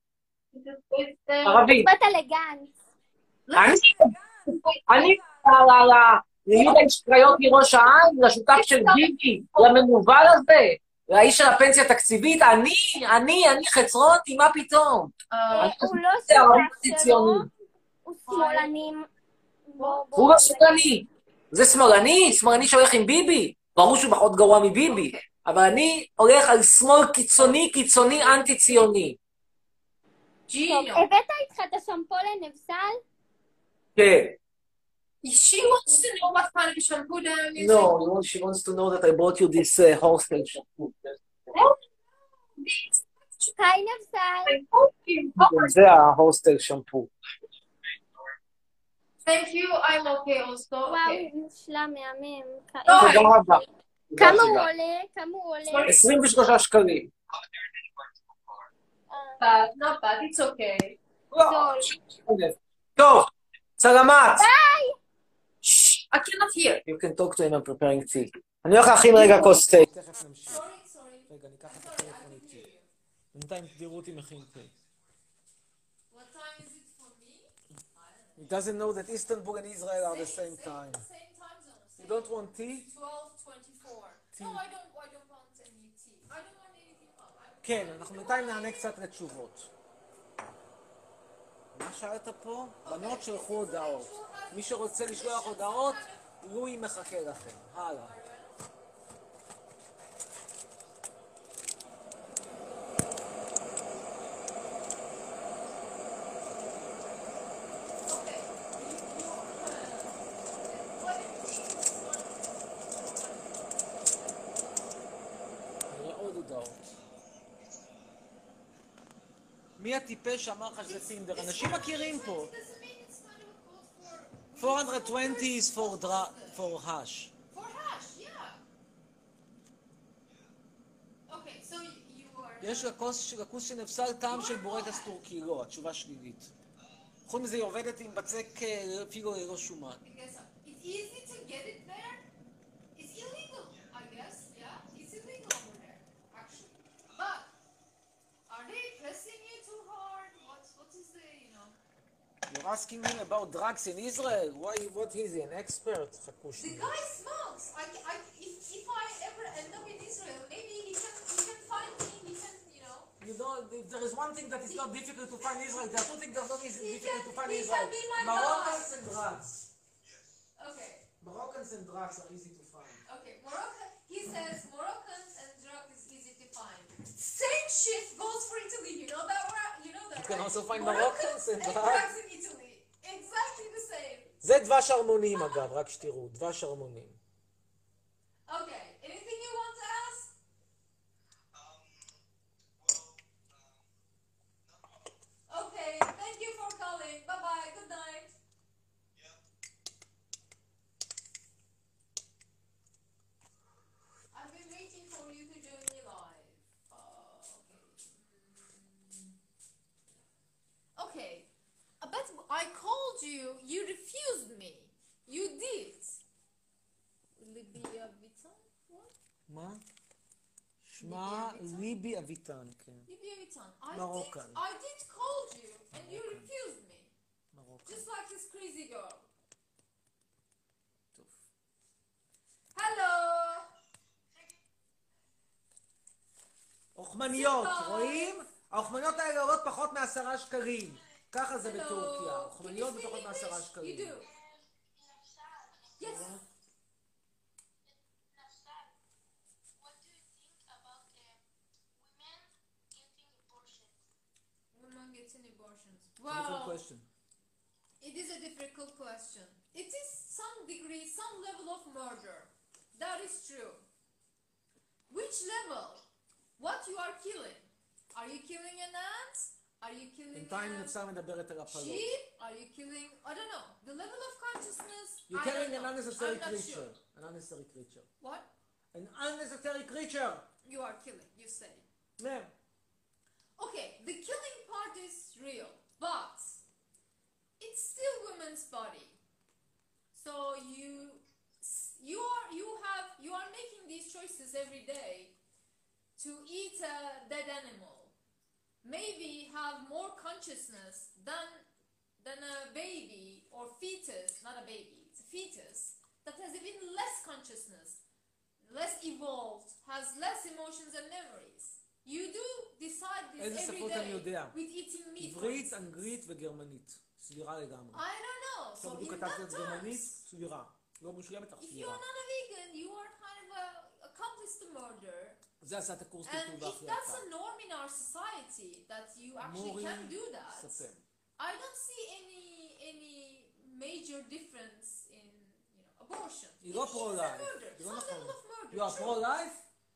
ערבית. הצבעת לגנץ. אני? אני ליהודה קריות מראש העין, לשותף של ביבי, למנוול הזה, לאיש של הפנסיה התקציבית, אני, אני, אני חצרוני, מה פתאום? הוא לא זה ערבית שותף שלו, ציוני. הוא שמאלני. בוא, בוא. הוא לא שמאלני. זה שמאלני? שמאלני שהולך עם ביבי? ברור שהוא פחות גרוע מביבי. אבל אני הולך על שמאל קיצוני, קיצוני, אנטי-ציוני. טוב, הבאת איתך את השמפו לנבסל? כן. She wants to know what kind of shampoo that I'm using. No, you want, she wants to know that I brought you this uh, hostel shampoo. היי נבסל. זה ההוסטל שמפו. Thank you, I'm okay also. וואו, Okay. מושלם, מהמם. תודה רבה. כמה הוא עולה? כמה הוא עולה? עשרים ושלושה שקלים. Bad, not bad, it's okay. טוב, סלמת. ביי! I cannot hear. You can talk to him, I'm preparing tea. אני הולך להכין רגע כוס תה. תכף נמשיך. Sorry, sorry. רגע, ניקח את הטלפון איתי. בינתיים תראו אותי מכין תה. What time is it for me? He doesn't know that Istanbul and Israel are the same time. Same time zone. don't want tea? twelve twenty-four. No, I don't, I don't want any tea. I don't want anything hot. I don't כן, אנחנו בינתיים נענה קצת לתשובות. מה שאלת פה? בנות שלחו הודעות. מי שרוצה לשלוח הודעות, לואי מחכה לכם. הלאה. נראה עוד הודעות. מי הטיפש שאמר לך שזה טינדר? אנשים מכירים פה. four hundred twenty is for dra- for hash. For hash, yeah. Okay, so you are... יש לכוס לכוס שנפסל טעם של בורקס טורקי. לא, התשובה שלילית. חוץ מזה היא עובדת עם בצק אה, אפילו ללא שומן. It's easy to get it there. It's illegal, I guess. Yeah, it's illegal over there, actually. But are they pressing you too hard? What, what is the, you know? You're asking me about drugs in Israel? Why, what is he, an expert? חכו The שנייה. guy smokes. I, I, if, if I ever end up in Israel, maybe he can, he can find me. He can, you know. You know, there is one thing that is not difficult to find in Israel. There are two things that are not easy- He difficult can- to find he in can Israel. be my Moroccans boss. and drugs. Okay, Moroccans and drugs are easy to find. okay. Moroccan. He says Moroccans and drug is easy to find. Same shit goes for Italy. You know that? right? You know that? You can right? also find Moroccans Moroccans and and drugs. drugs in Italy. Exactly the same. זה דבש הרמונים אגב, רק שתראו, דבש הרמונים. Okay. Anything you want to ask? Okay. Thank you for calling. Bye bye. Good night. I've been waiting for you to join me live. Uh, okay. Okay. Uh, But I called you. You refused me. You did. Libya Vitan? What? מה? שמה ליבי אביטן, כן. Libya Vitan. I Moroccan. did. I did call you, and you refused me. מרוקו. Just like this crazy girl. טוב. Hello. אוכמניות, סליחה. רואים? האוכמניות האלה עולות פחות מעשרה שקלים. ככה זה Hello. בטורקיה. Can you אוכמניות speak בפחות מעשרה English? You שקלים. do. Yes. Women getting abortions. Difficult Well, question. it is a difficult question. It is some degree, some level of murder. That is true. Which level? What you are killing? Are you killing an ant? Are you killing בינתיים a נפסה מדברת על הפלות. sheep? Are you killing? I don't know. The level of consciousness. You're I don't killing an know. unnecessary I'm not creature. sure. An unnecessary creature. What? An unnecessary creature. You are killing. You say. מהם. Okay, the killing part is real, but it's still women's body. So you you are you have you are making these choices every day to eat a dead animal. Maybe have more consciousness than than a baby or fetus, not a baby, it's a fetus that has even less consciousness, less evolved, has less emotions and memories. You do decide this איזה every שפות אני day יודע? with eating meat. for עברית, instance. אנגלית וגרמנית. סבירה לגמרי. I don't know. So עכשיו בדיוק in כתבתי that את גרמנית, terms, סבירה. לא מושלמת, אך if you're סבירה. not a vegan, you are kind of a accomplice to murder. זה עשה את הקורס And טלטול if והכי that's יקר. a norm in our society that you actually מורי can do that, ספם. I don't see any any major difference in you know abortion. היא לא It is a פרו-לייף. murder, זה לא some נכון. level of murder. You are sure. pro-life?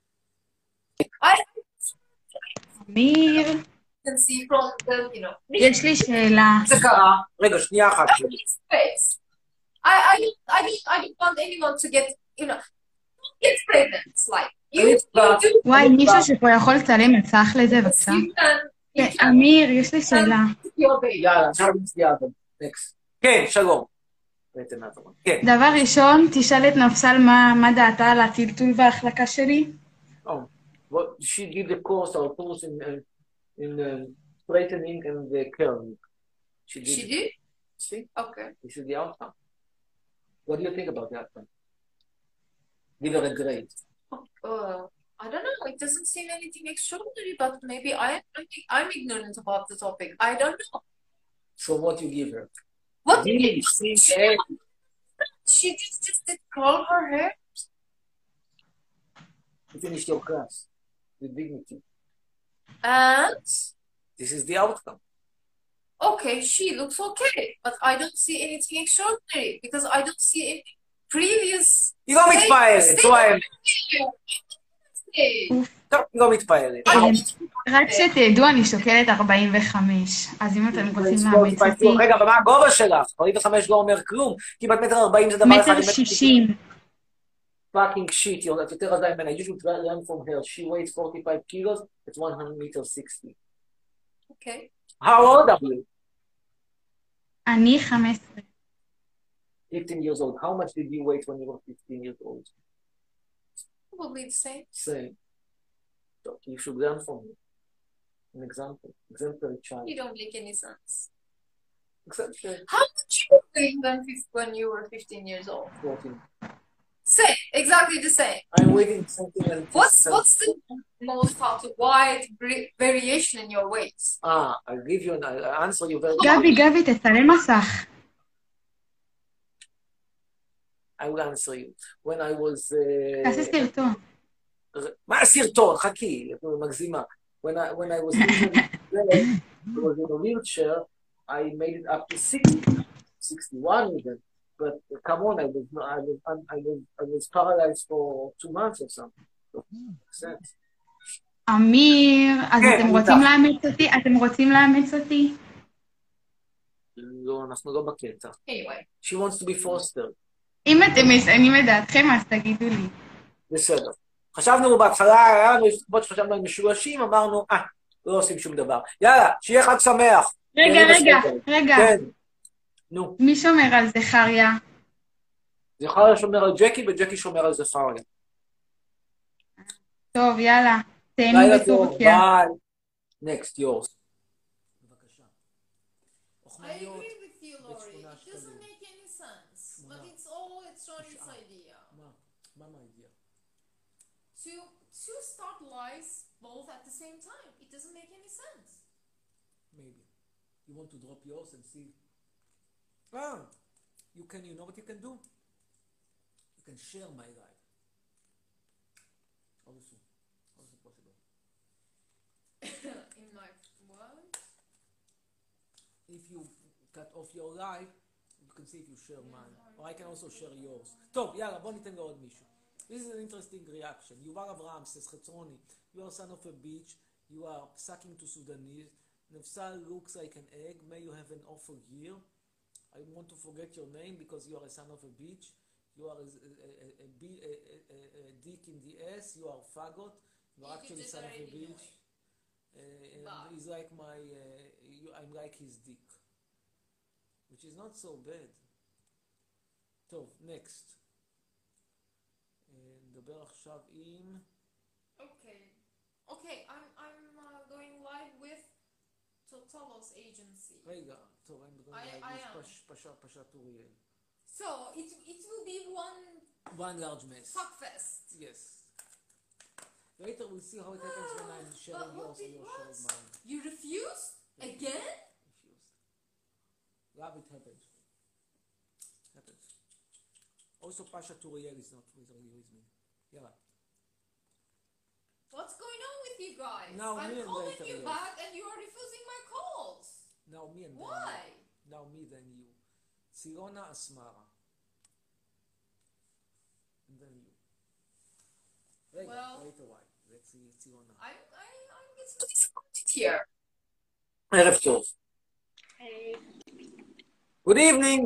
אמיר, can see from the you know יש לי שאלה. the car. רגע, שנייה אחת. Space. I I I don't I don't want anyone to get you know get pregnant like you, you do. וואי, מישהו שפה יכול לצלם מסך לזה, בבקשה? You can you כן, אמיר, יש לי שאלה. your baby. יאללה, עכשיו נצביע על זה. נקסט. כן, שלום. בעצם נעזור. כן. דבר ראשון, תשאל את נפסל מה מה דעתה על הטלטול וההחלקה שלי. Oh, what she did the course or course in uh, in uh, straightening and the curling. She did. She did? See, Okay. this is the outcome. What do you think about the outcome? Give her a grade. Uh, I don't know. It doesn't seem anything extraordinary, but maybe I, I think I'm ignorant about the topic. I don't know. So what you give her? What B, did you C, she, A. she just, just did curl her hair? You finished your class with dignity. And This is the outcome. okay, she looks okay, but I don't see anything extraordinary because I don't see any previous. היא לא מתפעלת, זו האמת. טוב, היא לא מתפעלת. רק שתדעו, אני שוקלת ארבעים וחמש, אז אם אתם רוצים לאמץ אותי... רגע, ומה הגובה שלך? ארבעים וחמש לא אומר כלום, כמעט מטר ארבעים זה דבר אחד. מטר שישים. fucking shit, את יותר רזה ממנה. You should learn from her. She weighs forty-five kilos, it's one hundred meters sixty. Okay. How old are you? אני חמש עשרה. fifteen years old. How much did you weigh when you were fifteen years old? Probably the same. Same. So you should learn from me. An example. Exemplary child. You don't make any sense. Exemplary. How much you weigh when, when you were fifteen years old? fourteen. Same, exactly the same. I'm waiting something else. What's what's the most how to wide variation in your weights? Ah, I'll give you an I'll answer you very גבי, גבי, תצלם מסך. I will answer you. When I was... uh, תעשה סרטון. מה הסרטון? חכי, את מגזימה. When I, when I was I was in a wheelchair, I made it up to sixty, sixty-one even. But uh, come on, I was, I was, I was, I was paralyzed for two months or something. So, makes sense. אמיר, אז כן, אתם אני רוצים איתך. לאמץ אותי? אתם רוצים לאמץ אותי? לא, אנחנו לא בקטע. Anyway. She wants to be fostered. אם אתם משנים את דעתכם, אז תגידו לי. בסדר. חשבנו בהתחלה, היה לנו הסתכלות שחשבנו על משולשים, אמרנו, אה, לא עושים שום דבר. יאללה, שיהיה חג שמח. רגע, רגע, רגע. כן. נו. מי שומר על זכריה? זכריה שומר על ג'קי, וג'קי שומר על זכריה. טוב, יאללה. תהנו לילה טוב, בטורקיה. ביי. Next, yours. בבקשה. I agree with you, Lori. It doesn't make any sense, but it's all it's Shawnee's idea. מה? מה מה idea? To to start lives both at the same time. It doesn't make any sense. Maybe. You want to drop yours and see? Ah, you can, you know what you can do? You can share my life. How is it? How is it possible? In my what? If you cut off your life, you can see if you share mine. Or I can also share yours. טוב, יאללה, בוא ניתן לעוד mishi. This is an interesting reaction. Yuval Avraham says, Chetroni, you are son of a bitch, you are sucking to Sudanese, Nefsal looks like an egg, may you have an awful year. I want to forget your name because you are a son of a bitch, you are a, a, a, a, a, a, a dick in the ass, you are fagot, you are actually son of a bitch. Uh, and he's like my, uh, you, I'm like his dick. Which is not so bad. טוב, next. נדבר עכשיו עם... Okay. Okay, I'm I'm uh, going live with Totolos agency. רגע, טוב, I'm going I- live I with am. פש- פשט פשט אוריאל. So it it will be one One large mess. fuckfest. Yes. Later we'll see how it happens when I'm sharing But what yours and it you're sharing was? mine. You refused again? Refused. Love it happens. Happens. Also Pasha Turiel is not with really with me. יאללה. What's going on with you guys? Now I'm me and calling later, you yes. back and you are refusing my calls. Now me and Why? then you. Now me then you. Sirona Asmara. And then you. רגע, Well- later why. Let's see ציונה. I'm I I'm getting disappointed here. ערב טוב. Good evening.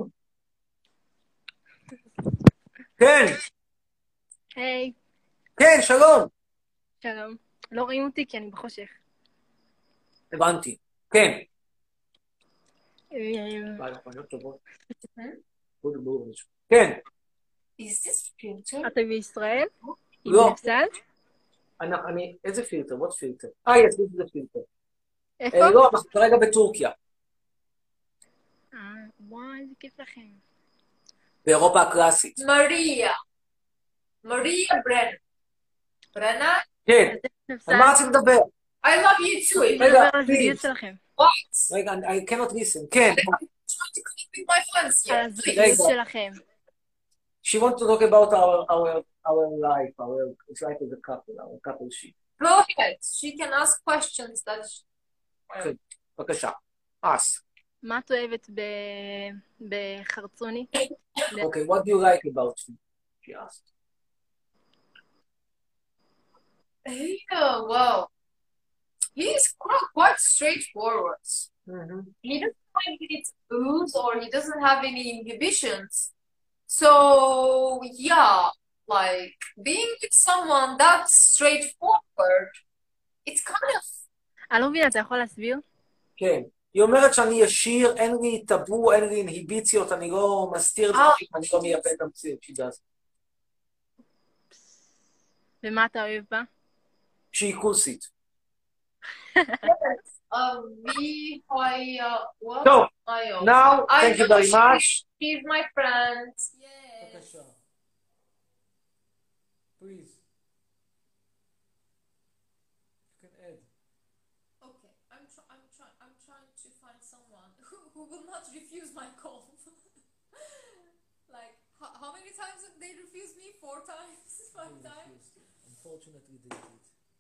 כן, היי, כן, שלום. שלום. לא רואים אותי כי אני בחושך. הבנתי. כן. אה, ביי, חנויות טובות. בואו בואו. כן. Is this filter? אתה בישראל? עם לא. נפסל? אני, אני, איזה פילטר? what פילטר? אה, יש לי איזה פילטר. איפה? אה, לא, אנחנו כרגע בטורקיה. אה, וואי, איזה כיף לכם. באירופה הקלאסית. Maria. Maria Brenner. ברנה? כן, על מה רוצים לדבר? I love you too. רגע, על הזוגיות שלכם. What? רגע, I cannot listen. כן. I'm trying to connect with my friends על here. הזוגיות שלכם. She wants to talk about our our our life, our it's like as a couple, our couple shit. Go ahead. She can ask questions that... כן, בבקשה. ask. מה את אוהבת בחרצוני? Okay, what do you like about him? She asked. Yeah, well, he's quite, quite straightforward. Mm-hmm. He doesn't like any taboos or he doesn't have any inhibitions. So, yeah, like being with someone that's straightforward, it's kind of... אני לא מבינה, אתה יכול להסביר? כן. היא אומרת שאני ישיר, אין לי טאבו, אין לי אינהיביציות, אני לא מסתיר דברים, אני לא מייפה את המציאות, she does. ומה אתה אוהב בה? שהיא כוסית. me, I, uh, what? So, I, uh, now, I thank you know very she- much. She's my friend. Yes. בבקשה. Please. You can add. Okay, I'm try- I'm trying I'm trying to find someone who, who will not refuse my call. Like how, how many times did they refuse me? Four times? Five times? Unfortunately they did.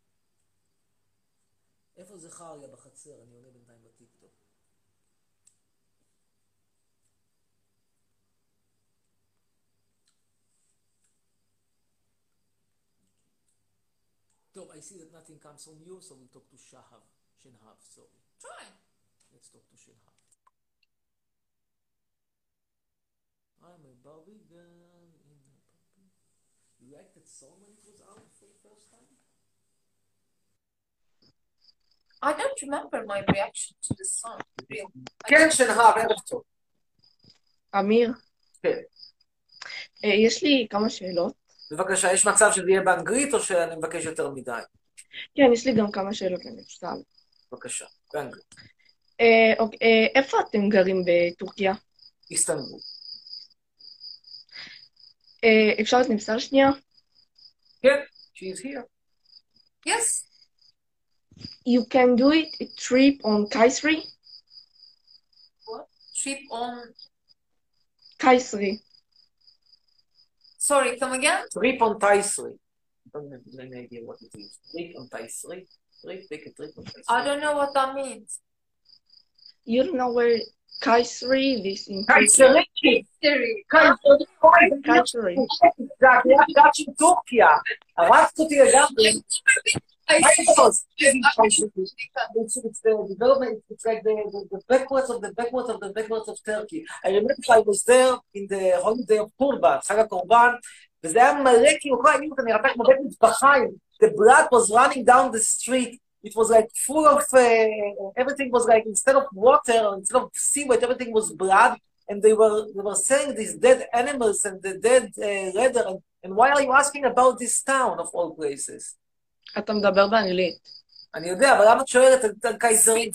איפה זה חריה בחצר? אני עונה בינתיים בטיקטוק. טוב, I see that nothing comes from you, so we'll talk to Shahav. Shenhav, sorry. Try. Let's talk to Shenhav. I'm a Barbie girl in a puppy. You liked that song when it was out for the first time? I don't remember my reaction to the song. Real. כן, שנהב, ערב טוב. אמיר, כן. אה, יש לי כמה שאלות. בבקשה, יש מצב שזה יהיה באנגלית או שאני מבקש יותר מדי? כן, יש לי גם כמה שאלות למשל. בבקשה, באנגלית. אה, אוקיי, אה, איפה אתם גרים בטורקיה? איסטנבול. אה, אפשר את נמסר שנייה? כן, she's here. Yes. You can do it a trip on Kayseri? What? Trip on... Kayseri. Sorry, come again? Trip on Taisri. I don't have any idea what it is. Trip on Taisri. Trip, take a trip on Taisri. I don't know what that means. You don't know where Kayseri is in Kayseri! Kayseri. Kayseri. זה הקריאת גת של טורקיה. הרסת אותי לגמרי. It's, it's the development, it's like the, the, the backwards of the backwards of the backwards of Turkey. I remember I was there in the holiday of Turban, חג הקורבן, וזה היה מלא כאילו, כל הימים אתה נראתה כמו בית מטבחיים. The blood was running down the street. It was like full of, uh, everything was like, instead of water, instead of seaweed, everything was blood. And they were, they were selling these dead animals and the dead uh, leather. And, and why are you asking about this town of all places? אתה מדבר באנגלית. אני יודע, אבל למה את שואלת על קייזרים?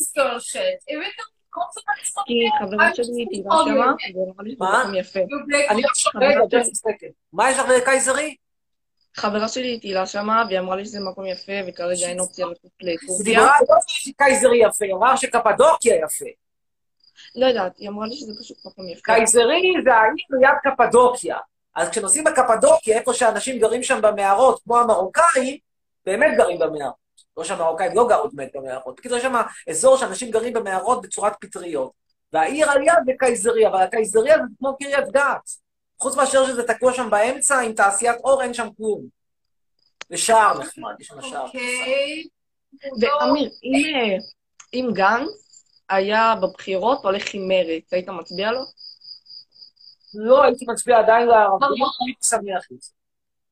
כי חברה שלי תהילה שמה, ואמרה לי שזה מקום יפה. אני עכשיו, רגע, just a second. מה יש לך לקייזרי? חברה שלי תהילה שמה, והיא אמרה לי שזה מקום יפה, וכרגע אין אופציה לטוס לטורקיה. היא דיברה לא שקייזרי יפה, היא אמרה שקפדוקיה יפה. לא יודעת, היא אמרה לי שזה פשוט מקום יפה. קייזרי זה העיר ליד קפדוקיה. אז כשנוסעים בקפדוקיה, איפה שאנשים גרים שם במערות, כמו המרוקאים, באמת גרים במערות. לא שהמרוקאים לא גרות באמת במערות. בקיצור, יש שם אזור שאנשים גרים במערות בצורת פטריות. והעיר על יד זה קייזריה, אבל הקייזריה זה כמו קריית גת. חוץ מאשר שזה תקוע שם באמצע, עם תעשיית אור, אין שם כלום. זה שער נחמד, יש שם שער. אוקיי. ואמיר, אם גנץ היה בבחירות הולך עם מרץ, היית מצביע לו? לא, הייתי מצביע עדיין לערבים, הייתי שמח את זה.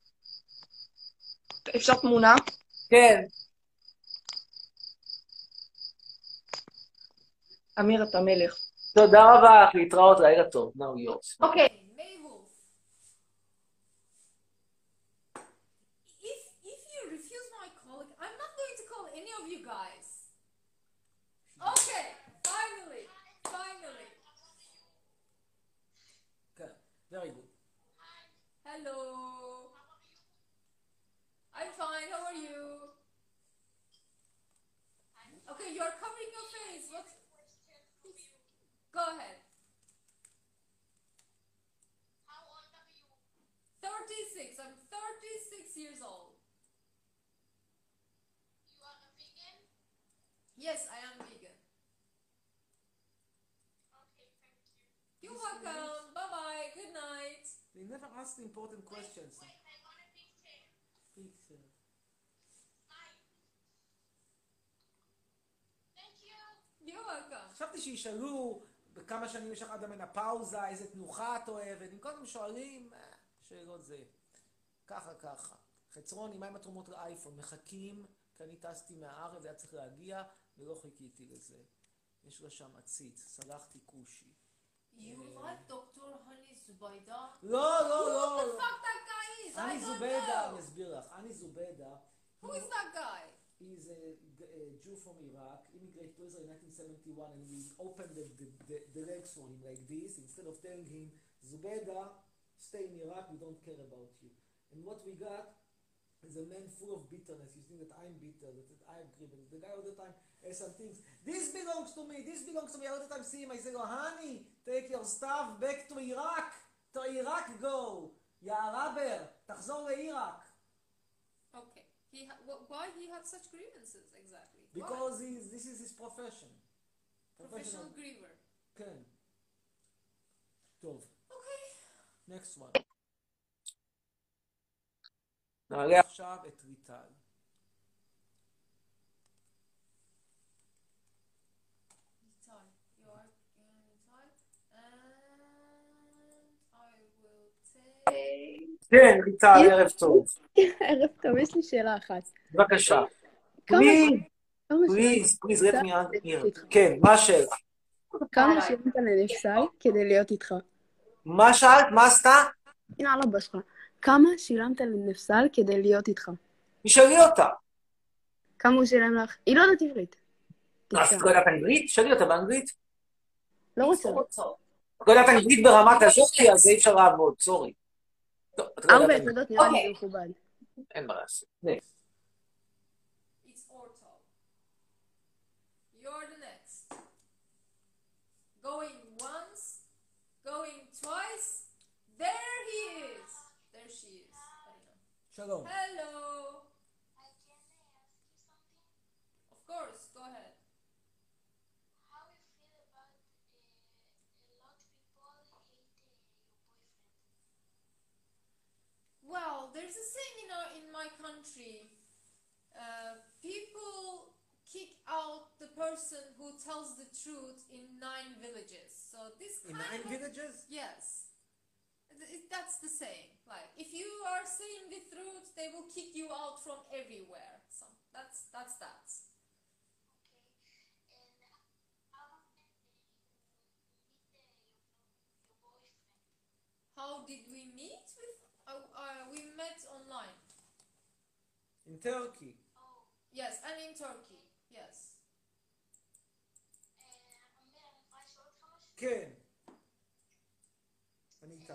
אפשר תמונה? כן. אמיר, אתה מלך. תודה רבה, להתראות, לילה טוב. Now yours. אוקיי. Okay, finally, finally. Okay, very good. Hello. Yes, I am vegan. You're welcome. Bye bye. Good night. They never ask the important questions. Pizza. You're welcome. חשבתי שישאלו בכמה שנים יש לך עד המנופאוזה, איזה תנוחה את אוהבת, אם קודם שואלים, אה, שאלות זה. ככה ככה. חצרוני, מה עם התרומות לאייפון? מחכים, כי אני טסתי מהארץ, היה צריך להגיע, ולא חיכיתי לזה. יש לה שם עציץ, סלחתי כושי. You like Doctor Hani Zubayda? לא, לא, Who לא. the fuck that guy is? I אני don't זובדה, know. אני אסביר לך. אני זובדה. Who is that guy? He's a, a Jew from Iraq, immigrated to Israel in nineteen seventy-one, and we opened the, the, the, the legs for him like this, instead of telling him, Zubeda, stay in Iraq, we don't care about you. And what we got is a man full of bitterness. You think that I'm bitter, that, that I'm grievous. The guy all the time has some things. This belongs to me, this belongs to me. I all the time see him, I say, oh, honey, take your stuff back to Iraq. To Iraq go. Ya Araber, תחזור לעיראק. Okay. He ha- wh- why he had such grievances exactly? Because Why? he's, this is his profession. Professional griever. כן. טוב. Okay. Next one. נעלה עכשיו את ריטל. Nitai, you are in Nitai, and I will take. כן, ריטל, ערב טוב. ערב טוב, יש לי שאלה אחת. בבקשה. כמה- פליז, כמה פליז, שילמת- פליז, let me answer. כן, מה השאלה? כמה שילמת לנפסל כדי להיות איתך? מה שאלת? מה עשתה? הנה על הבא שלך. כמה שילמת לנפסל כדי להיות איתך? תשאלי אותה. כמה הוא שילם לך? היא לא יודעת עברית. אז את לא יודעת אנגלית? תשאלי אותה באנגלית. לא רוצה. את לא יודעת אנגלית ברמת הזאת, כי אז אי אפשר לעבוד, סורי. טוב, את לא ארבע יודעת אנגלית. יסודות נראה לי אוקיי. זה מכובד. אין מה לעשות. Next. It's Ortal. You're the next. Going once, going twice. There he is. There she is. I don't know. שלום. Hello. Of course, go ahead. Well, there's a saying in our, in my country. Uh, people kick out the person who tells the truth in nine villages. So this In kind nine of, villages? Yes. Th- That's the saying. Like, if you are saying the truth, they will kick you out from everywhere. So that's that's that. How did we meet with? Uh, uh, we met online. In Turkey. Yes, and in Turkey. Yes. כן. אני איתך.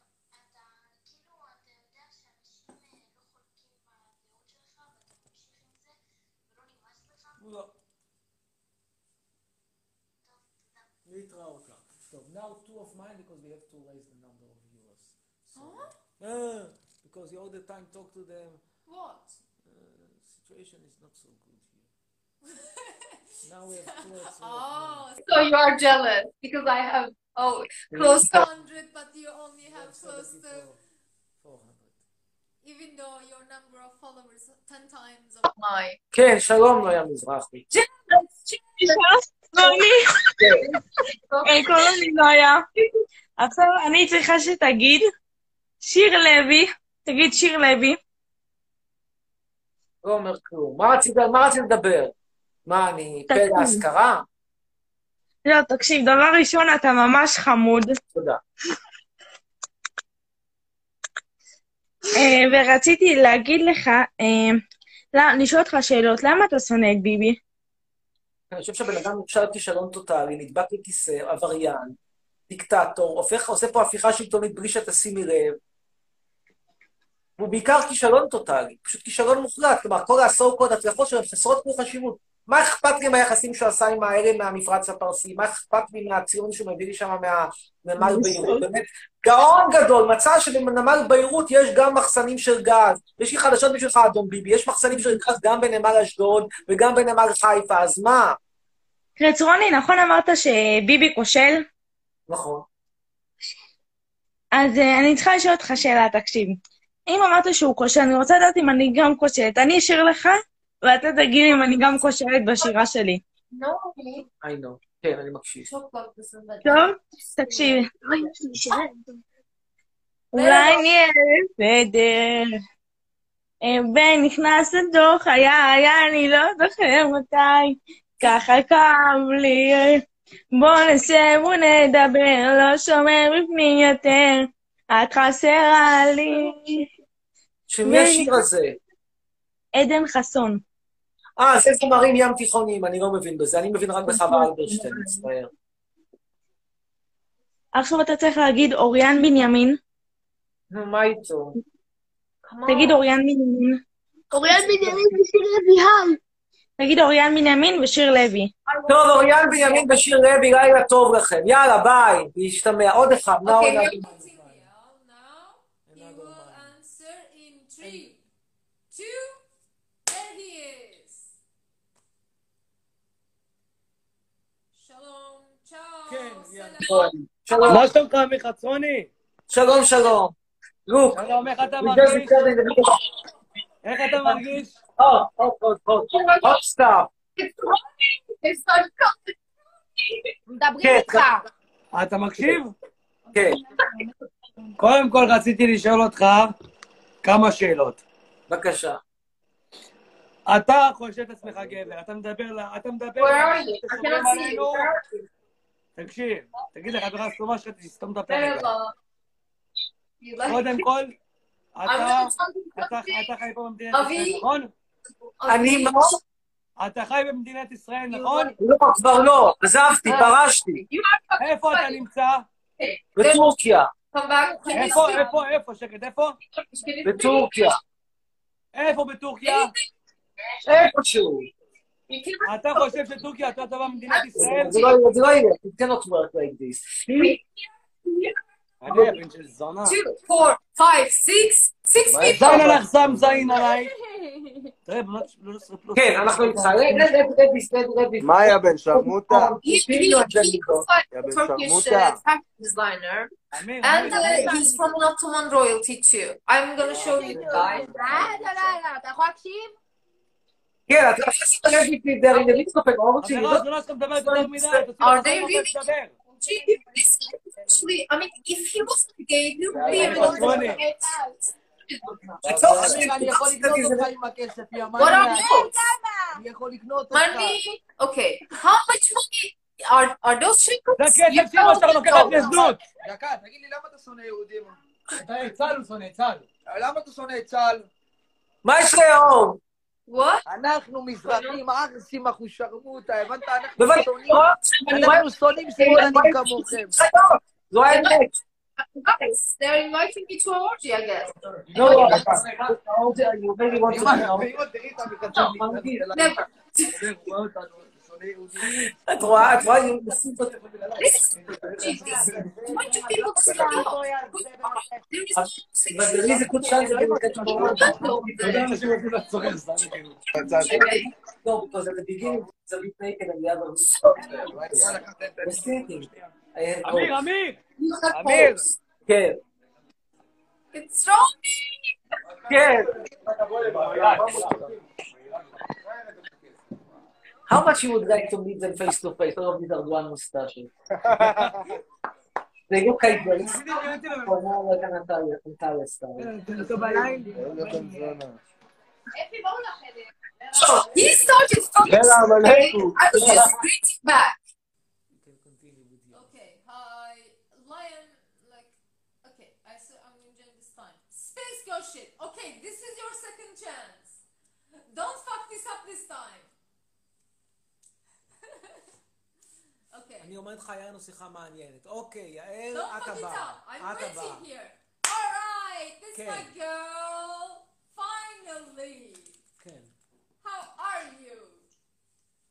לא. להתראות לך. טוב, now two of mine because we have to raise the number of viewers. So, Huh? uh, because you all the time talk to them. What? Uh, situation is not so good here. Now we have two of Oh, So you are jealous because I have oh close to hundred, but you only have close to, four hundred. even though your number of followers ten times of mine. כן, שלום נויה מזרחי. קוראים לי נויה. עכשיו אני צריכה שתגיד, שיר לוי, תגיד שיר לוי. לא אומר כלום. מה רצית, מה רצית לדבר? מה, אני פה להשכרה? לא, תקשיב, דבר ראשון, אתה ממש חמוד. תודה. אה, ורציתי להגיד לך, אה, לא, לשאול אותך שאלות, למה אתה שונא את ביבי? אני חושב שהבן אדם נכשל כישלון טוטלי, נדבק לכיסא, עבריין, דיקטטור, הופך, עושה פה הפיכה שלטונית בלי שתשימי לב. הוא בעיקר כישלון טוטלי, פשוט כישלון מוחלט, כלומר, כל העשור קוד הצלחות שלהם חסרות כמו חשיבות. מה אכפת לי מהיחסים שהוא עשה עם האלה מהמפרץ הפרסי? מה אכפת לי מהציון שהוא מביא לי שם מהנמל ביירות? באמת, גאון גדול, מצא שבנמל ביירות יש גם מחסנים של גז. יש לי חדשות בשבילך, אדון ביבי, יש מחסנים של גז גם בנמל אשדוד וגם בנמל חיפה, אז מה? רצרוני, נכון אמרת שביבי כושל? נכון. אז uh, אני צריכה לשאול אותך שאלה, תקשיב. אם אמרת שהוא כושל, אני רוצה לדעת אם אני גם כושלת. אני אשאיר לך, ואתה תגיד אם אני גם כושלת בשירה שלי. I know. כן, אני מקשיב. טוב? תקשיב. אולי נהיה בסדר. ונכנס לתוך חיי, אני לא זוכר מתי. ככה כאב לי. בוא נשב ונדבר, לא שומר בפנים יותר. את חסרה לי. שמי השיר הזה? עדן חסון. אה, זה זמרים ים תיכוניים, אני לא מבין בזה, אני מבין רק בחווה אלברשטיין, מצטער. עכשיו אתה צריך להגיד אוריאן בנימין. נו, מה איתו? תגיד אוריאן בנימין. אוריאן בנימין ושיר לוי, היי. תגיד אוריאן בנימין ושיר לוי. טוב, אוריאן בנימין ושיר לוי, לילה טוב לכם. יאללה, ביי, להשתמע. עוד אחד. שלום. מה שלומך, מחצרוני? שלום, שלום. לוק. שלום, איך אתה מרגיש? איך אתה מרגיש? עוד, עוד, עוד, עוד. עוד סטאפ. מדברים איתך. אתה מקשיב? כן. קודם כל רציתי לשאול אותך כמה שאלות. בבקשה. אתה חושב את עצמך גבר, אתה מדבר, אתה מדבר, תקשיב, תגיד לך, חברה סתומה שלך, תסתום את הפה רגע. קודם כל, אתה חי פה במדינת ישראל, נכון? אני מה? אתה חי במדינת ישראל, נכון? לא, כבר לא, עזבתי, פרשתי. איפה אתה נמצא? בטורקיה. איפה, איפה, איפה, שקט, איפה? בטורקיה. איפה בטורקיה? איפשהו. אתה חושב שטורקיה יותר טובה ממדינת ישראל? זה לא יהיה, it cannot work like this. אני הבן של זונה. two, four, five, six, six people. זין עליך שם זין עליי. כן, אנחנו איתך. מה היה בן שרמוטה? Yeah, Turkish uh, fashion designer, and uh, he's from Ottoman royalty too. I'm gonna show you the guy. אתה יכול להקשיב? כן, אתה יכול להקשיב לי דרך למצטופק, לא רוצים לראות. זונה שאתה מדבר יותר מדי, Are they really? Actually, I mean, if he was gay, he would be able to get out. אני יכול לקנות אותך עם הכסף, יא What are you? אני יכול לקנות אותך. Money? Okay. How much money are, are those shekels? זה כסף שלו שאתה לוקחת לזנות. דקה, תגיד לי למה אתה שונא יהודים? אתה צה"ל הוא שונא, צה"ל. למה אתה שונא את צה"ל? מה יש היום? אנחנו מזרחים, ערסים, אנחנו שרמוטה, הבנת? בבקשה. אנחנו שונאים שמאלנים כמוכם. זו האמת. Guys, they're inviting me to an orgy, I guess. No, you really want to know. Never. את רואה, את רואה, זה קוד שם, זה לא, because at the beginning, it's a bit naked and the other was thinking. אמיר, אמיר! אמיר! כן. It's wrong. כן. How much you would like to meet them face to face? All of these are one mustache. They look like this. For more like an Antalya, Antalya style. So, he started from the I was just reaching back. Okay, hi, Lion, like, okay, I said I'm enjoying this time. Space girl shit. Okay, this is your second chance. Don't fuck this up this time. אני אומרת לך, היה לנו שיחה מעניינת. אוקיי, יעל, את הבאה. I'm waiting here. Alright, this is my girl. Finally. כן. How are you?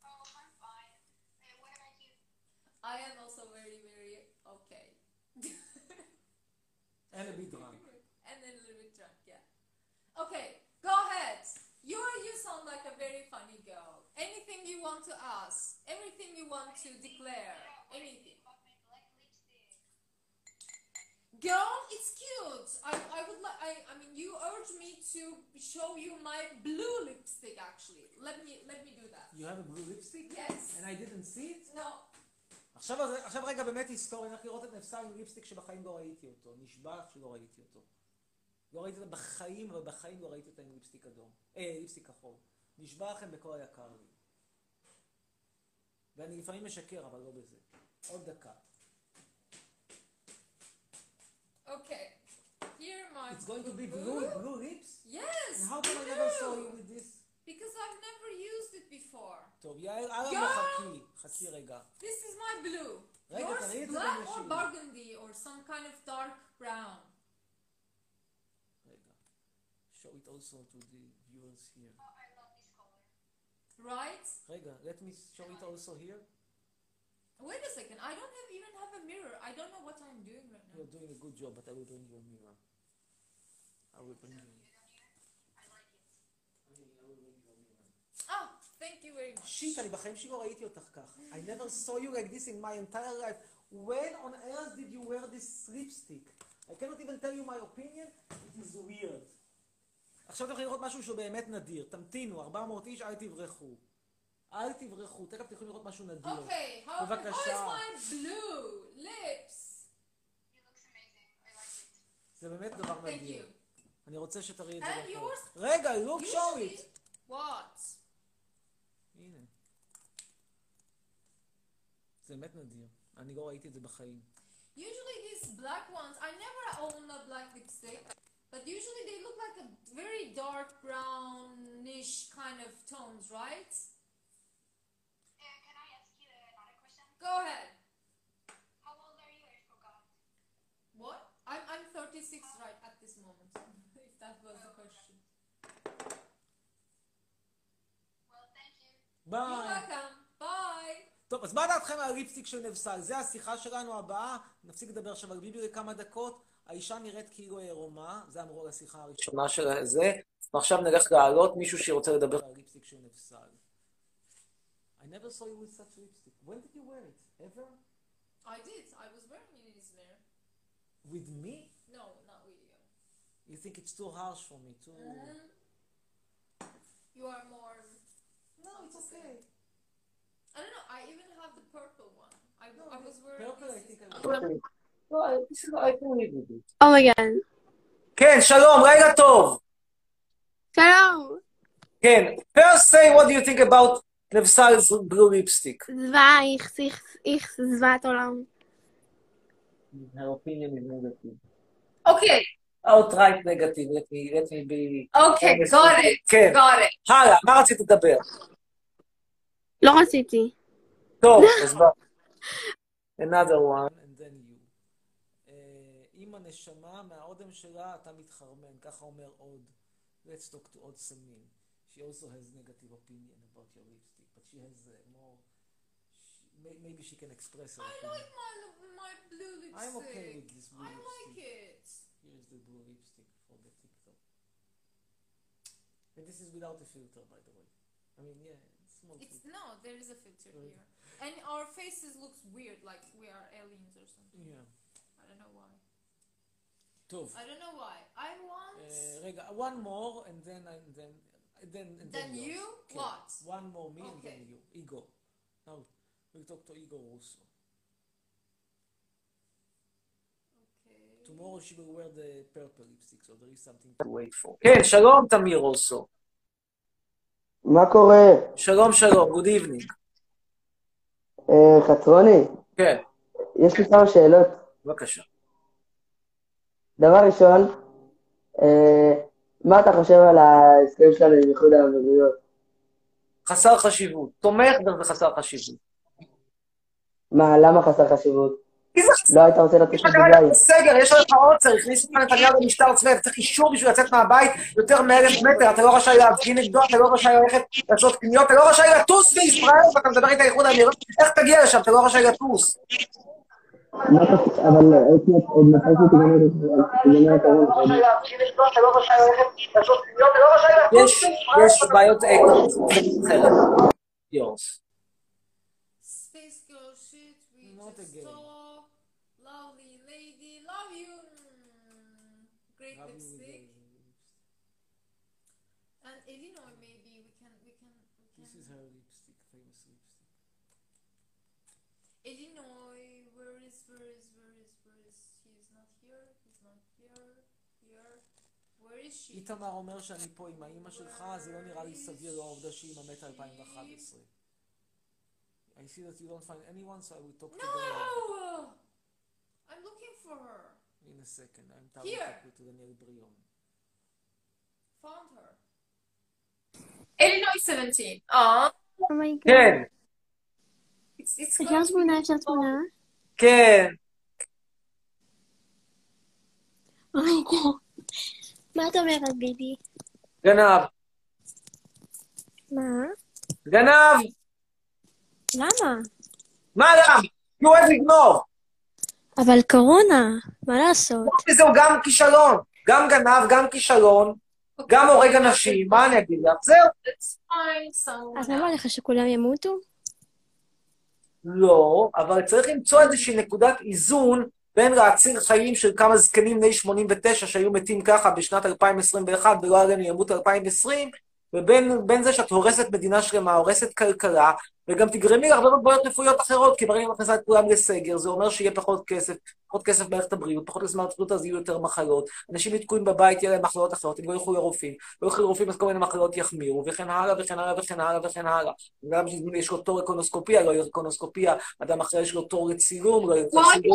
am also very, very okay. And a bit drunk. And then a little bit drunk, yeah. Okay, go ahead. You you sound like a very funny girl. Anything you want to ask, everything you want to declare, anything. Girl, it's cute. I I would like. I I mean, you urged me to show you my blue lipstick. Actually, let me let me do that. You have a blue lipstick? Yes. And I didn't see it? No. עכשיו, עכשיו רגע באמת היסטוריה, אני הולך לראות את נפסל עם ליפסטיק שבחיים לא ראיתי אותו. נשבע לך שלא ראיתי אותו. לא ראיתי אותו בחיים, אבל בחיים לא ראיתי אותו עם ליפסטיק אדום. אה, ליפסטיק כחול. נשבע לכם בכל היקר לי. ואני לפעמים משקר, אבל לא בזה. עוד דקה. Okay. Here my. It's going to be blue, blue lips? Yes. And how come I never saw you with this? Because I've never used it before. טוב, יאיר, אלה לא חכי. חכי רגע. This is my blue. רגע, תראי את Yours זה black or בנשים. burgundy or some kind of dark brown. רגע. Show it also to the viewers here. Right? רגע, let me show it also here. Wait a second. I don't have, even have a mirror. I don't know what I'm doing right now. You're doing a good job, but I will bring you a mirror. I will bring you. Oh, thank you very much. שיט, אני בחיים שלי לא ראיתי אותך כך. I never saw you like this in my entire life. When on earth did you wear this lipstick? I cannot even tell you my opinion. It is weird. עכשיו אתם יכולים לראות משהו שהוא באמת נדיר. תמתינו, ארבע מאות איש, אל תברחו. אל תברחו, תכף תוכלו לראות משהו נדיר. Okay, how, how is בבקשה. my blue lips? זה באמת דבר Thank נדיר. you. אני רוצה שתראי את זה And בכל. yours? רגע, look, show Usually- it. What? הנה. זה באמת נדיר. אני לא ראיתי את זה בחיים. Usually these black ones, I never own a black lipstick, but usually they look like a very dark brownish kind of tones, right? Go ahead. How old are you? I forgot. What? I'm I'm thirty-six right at this moment. If that was the question. Well, thank you. You're ביי. welcome. Bye. טוב, אז מה דעתכם על הליפסטיק של נבסל? זה השיחה שלנו הבאה. נפסיק לדבר עכשיו על ביבי לכמה דקות. האישה נראית כאילו עירומה. זה אמרו לשיחה הראשונה של זה. ועכשיו נלך להעלות מישהו שרוצה לדבר על הליפסטיק של נבסל. I never saw you with such lipstick. When did you wear it? Ever? I did. I was wearing it in Izmir. With me? No, not with you. You think it's too harsh for me? Too... Mhm. You are more. No, it's okay. I don't know. I even have the purple one. I, I was wearing. Purple, I this think I is- will. I can live with it. Oh my god. כן, שלום, לילה טוב. שלום. כן, first say what do you think about נבסל's blue lipstick? זוועה, איכס, איכס, איכס, זוועת עולם. Her opinion is negative. Okay, outright negative, let me, let me be... okay, got it, כן. got it. הלאה, מה רצית לדבר? לא רציתי. טוב, אז בוא. Another one, and then you. אה, עם הנשמה, מהאודם שלה אתה מתחרמן, ככה אומר עוד. Let's talk to עוד סמין. She also has negative opinion about your lipstick, but she has uh, more... She, may- maybe she can express her I opinion. like my my blue lipstick. I'm okay with this blue I lipstick. like it. Here's the blue lipstick for the TikTok. And this is without a filter, by the way. I mean, yeah, it's small It's filter. no, there is a filter Really? here, and our faces looks weird, like we are aliens or something. Yeah. I don't know why. טוב. I don't know why. I want. אה, רגע, one more, and then, and then, and then, and Then yours. you? כן. What? One more me, and Okay. then you. Igor. Now, we'll talk to Igor also. Tomorrow she will wear the purple lipstick, so there is something to wait for. כן, שלום, תמיר also. מה קורה? שלום, שלום, good evening. אה, חצרוני, כן, יש לי כמה שאלות. בבקשה. דבר ראשון, אה, מה אתה חושב על ההסכם שלנו עם איחוד האמירויות? חסר חשיבות. תומך, אבל זה חסר חשיבות. מה, למה חסר חשיבות? לא היית רוצה לטוס לדובאי. סגר, יש לך עוצר, הכניסו לך נתניהו במשטר צבאי, צריך אישור בשביל לצאת מהבית יותר מאלף מטר, אתה לא רשאי להפגין נגדו, אתה לא רשאי ללכת לעשות קניות, אתה לא רשאי לטוס בישראל, ואתה מדבר איתה איחוד האמירויות, איך תגיע לשם, אתה לא רשאי לטוס. אבל הייתי עוד מתי שתיגמר הקורונה. אתה לא רשאי ללכת לעשות קניות, אתה לא רשאי לטוס. יש בעיות אקו, זה אחרת. יורס. Space girl shit, we just saw. Lovely lady, love you. Mm, great lipstick. And Illinois, maybe we can, we can, we can. This is her lipstick, famous lipstick. Illinois, where is, where is, where is, where is? He's not here. He's not here. Here. Where is she? איתמר אומר שאני פה עם האמא שלך, זה לא נראה לי סביר לא העובדה שהיא מתה אלפיים ואחת עשרה. I see that you don't find anyone, so I will talk to them. No! I'm looking for her. In a second, I'm talking Here. to Daniel Brion. Found her. Illinois seventeen. Oh. Oh my god. כן, It's, it's אפשר תמונה, אפשר תמונה? כן. אוי גוד. מה את אומרת, ביבי? גנב. מה? גנב! למה? מה למה? כי הוא אוהב לגנוב. אבל קורונה, מה לעשות? זהו גם כישלון. גם גנב, גם כישלון, גם הורג אנשים. מה אני אגיד לך? זהו. אז למה לך שכולם ימותו? לא, אבל צריך למצוא איזושהי נקודת איזון בין להציל חיים של כמה זקנים בני שמונים ותשע שהיו מתים ככה בשנת אלפיים עשרים ואחת ולא עלינו ימות אלפיים ועשרים, ובין בין זה שאת הורסת מדינה שלמה, הורסת כלכלה, וגם תגרמי להרבה מאוד בעיות רפואיות אחרות, כי ברגע מכניסה את כולם לסגר, זה אומר שיהיה פחות כסף, פחות כסף במערכת הבריאות, פחות כסף במערכת הבריאות, אז יהיו יותר מחלות, אנשים יתקועים בבית, יהיה להם מחלות אחרות, הם לא ילכו לרופאים, לא ילכו לרופאים, אז כל מיני מחלות יחמירו, וכן הלאה, וכן הלאה, וכן הלאה, וכן הלאה. אדם שיש לו תור לקולונוסקופיה, לא יהיה קולונוסקופיה, אדם אחר יש לו תור לצילום, לא יהיה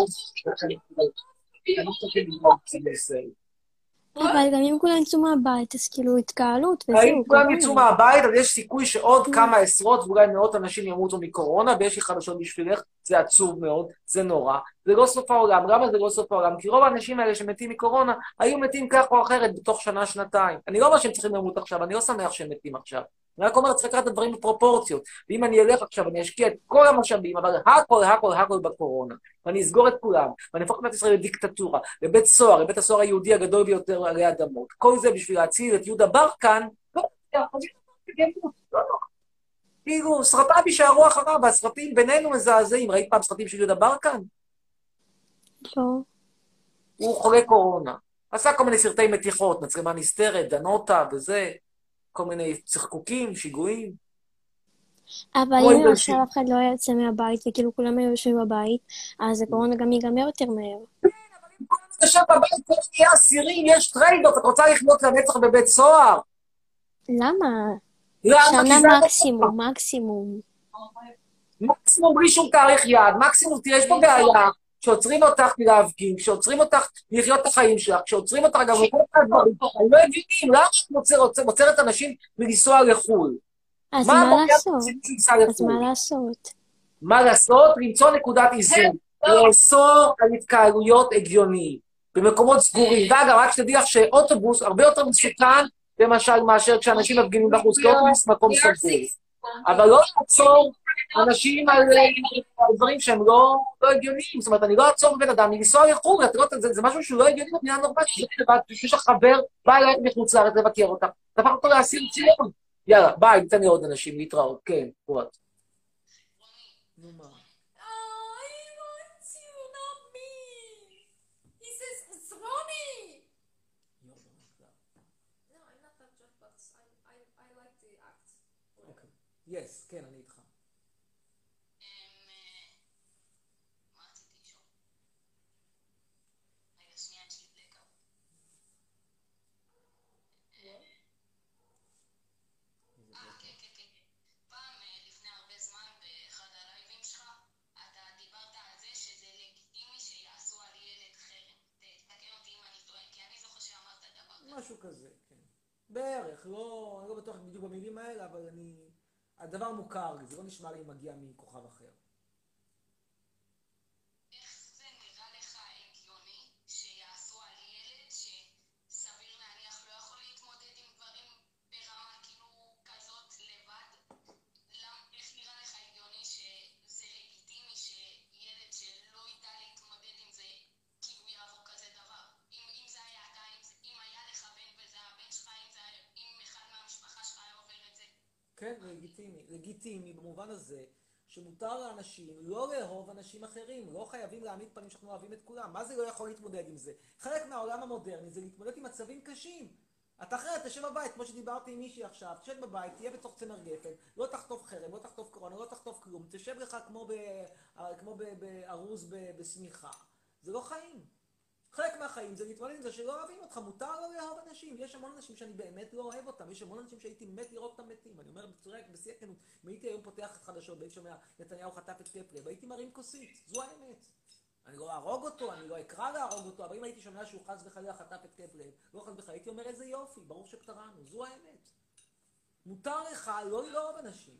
צילום. אבל גם אם כולם יצאו מהבית, אז כאילו התקהלות וזהו. אם כולם יצאו מהבית, אז יש סיכוי שעוד כמה עשרות ואולי מאות אנשים ימותו מקורונה, ויש לי חדשות בשבילך, זה עצוב מאוד, זה נורא. זה לא סוף העולם. למה זה לא סוף העולם? כי רוב האנשים האלה שמתים מקורונה, היו מתים כך או אחרת בתוך שנה, שנתיים. אני לא אומר שהם צריכים למות עכשיו, אני לא שמח שהם מתים עכשיו. אני רק אומר, צריך לקחת את הדברים בפרופורציות. ואם אני אלך עכשיו, אני אשקיע את כל המשאבים, אבל הכל, הכל, הכל בקורונה. ואני אסגור את כולם, ואני אהפוך את מדינת ישראל לדיקטטורה, לבית סוהר, לבית הסוהר היהודי הגדול ביותר עלי אדמות. כל זה בשביל להציל את יהודה ברקן, כאילו, סרטיו יישארו אחריו, והסרטים בינינו מזעזעים. ראית פעם סרטים של יהודה ברקן? לא. הוא חולה קורונה. עשה כל מיני סרטי מתיחות, מצלמה נסתרת, דנוטה וזה, כל מיני צחקוקים, שיגועים. אבל אם עכשיו אף אחד לא יצא מהבית, וכאילו כולם היו יושבים בבית, אז הקורונה גם ייגמר יותר מהר. עכשיו בבית כל נהיה אסירים, יש טריידות, את רוצה לחיות לנצח בבית סוהר? למה? שנה מקסימום, מקסימום. מקסימום בלי שום תאריך יעד, מקסימום, תראה, יש פה בעיה, כשעוצרים אותך מלהפגין, כשעוצרים אותך לחיות את החיים שלך, כשעוצרים אותך גם לכל הדברים, הם לא הבינים, למה את עוצרת אנשים מלנסוע לחו"ל? אז מה לעשות? אז מה לעשות? מה לעשות? למצוא נקודת איזון. לאסור על התקהלויות הגיוניים, במקומות סגורים. ואגב, רק שתדעי לך שאוטובוס הרבה יותר מסוכן, למשל, מאשר כשאנשים מפגינים בחוץ, כי אוטובוס מקום סגור. אבל לא לעצור אנשים על דברים שהם לא הגיוניים. זאת אומרת, אני לא אעצור בבן אדם, לנסוע לחו"ל, זה משהו שהוא לא הגיוני במדינה נורמלית. יש לך חבר, בא אליי מחוץ לארץ לבקר אותך, תפך אותו לאסיר ציון. יאללה, ביי, ניתן לי עוד אנשים להתראות. כן, פרוט. נו מה? יס, כן, אני איתך. משהו כזה, כן. בערך, לא, אני לא בטוח בדיוק במילים האלה, אבל אני... הדבר מוכר לי, זה לא נשמע לי מגיע מכוכב אחר. איך זה כן, זה לגיטימי. לגיטימי במובן הזה שמותר לאנשים לא לאהוב אנשים אחרים, לא חייבים להעמיד פנים שאנחנו אוהבים את כולם. מה זה לא יכול להתמודד עם זה? חלק מהעולם המודרני זה להתמודד עם מצבים קשים. אתה אחרת תשב בבית, כמו שדיברתי עם מישהי עכשיו, תשב בבית, תהיה בתוך צמר גפן, לא תחטוף חרם, לא תחטוף קורונה, לא תחטוף כלום, תשב לך כמו, ב, כמו ב, בארוז ב, בשמיכה. זה לא חיים. חלק מהחיים זה להתמודד עם זה שלא אוהבים אותך, מותר לא לאהוב אנשים. יש המון אנשים שאני באמת לא אוהב אותם, יש המון אנשים שהייתי מת לראות אותם מתים. אני אומר בצורה, בשיא הכנות, אם הייתי היום פותח את חדשות, והייתי שומע נתניהו חטף את קפלר, והייתי מרים כוסית, זו האמת. אני לא ארוג אותו, אני לא אקרא להרוג אותו, אבל אם הייתי שומע שהוא חס וחלילה חטף את קפלר, לא חס וחלילה, הייתי אומר איזה יופי, ברור שפטרנו, זו האמת. מותר לך לא לאהוב אנשים.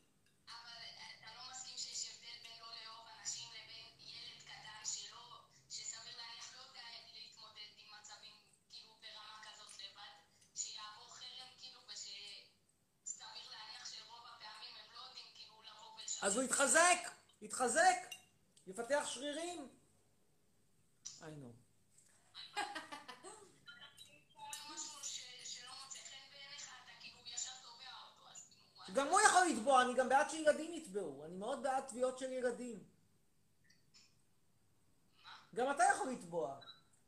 אז הוא יתחזק, יתחזק, יפתח שרירים. I know. גם הוא יכול לתבוע, אני גם בעד שילדים יתבעו, אני מאוד בעד תביעות של ילדים. גם אתה יכול לתבוע.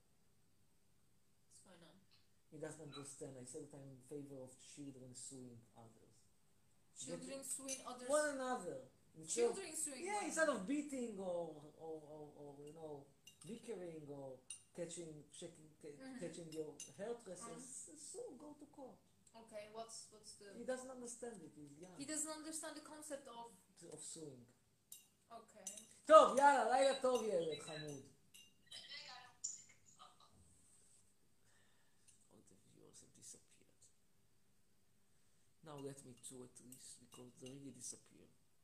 He doesn't understand. I said that I'm in favor of children suing others. Children suing others. One another. Children suing. Yeah, instead of beating or, or, or, or you know, bickering or catching, checking, mm-hmm. catching your hairdressers, mm-hmm. so go to court. Okay, what's what's the? He doesn't understand it. He's young. He doesn't understand the concept of of suing. Okay. טוב, יאללה, לילה טוב ילד חמוד. All the viewers have disappeared. Now let me two at least because they really disappear.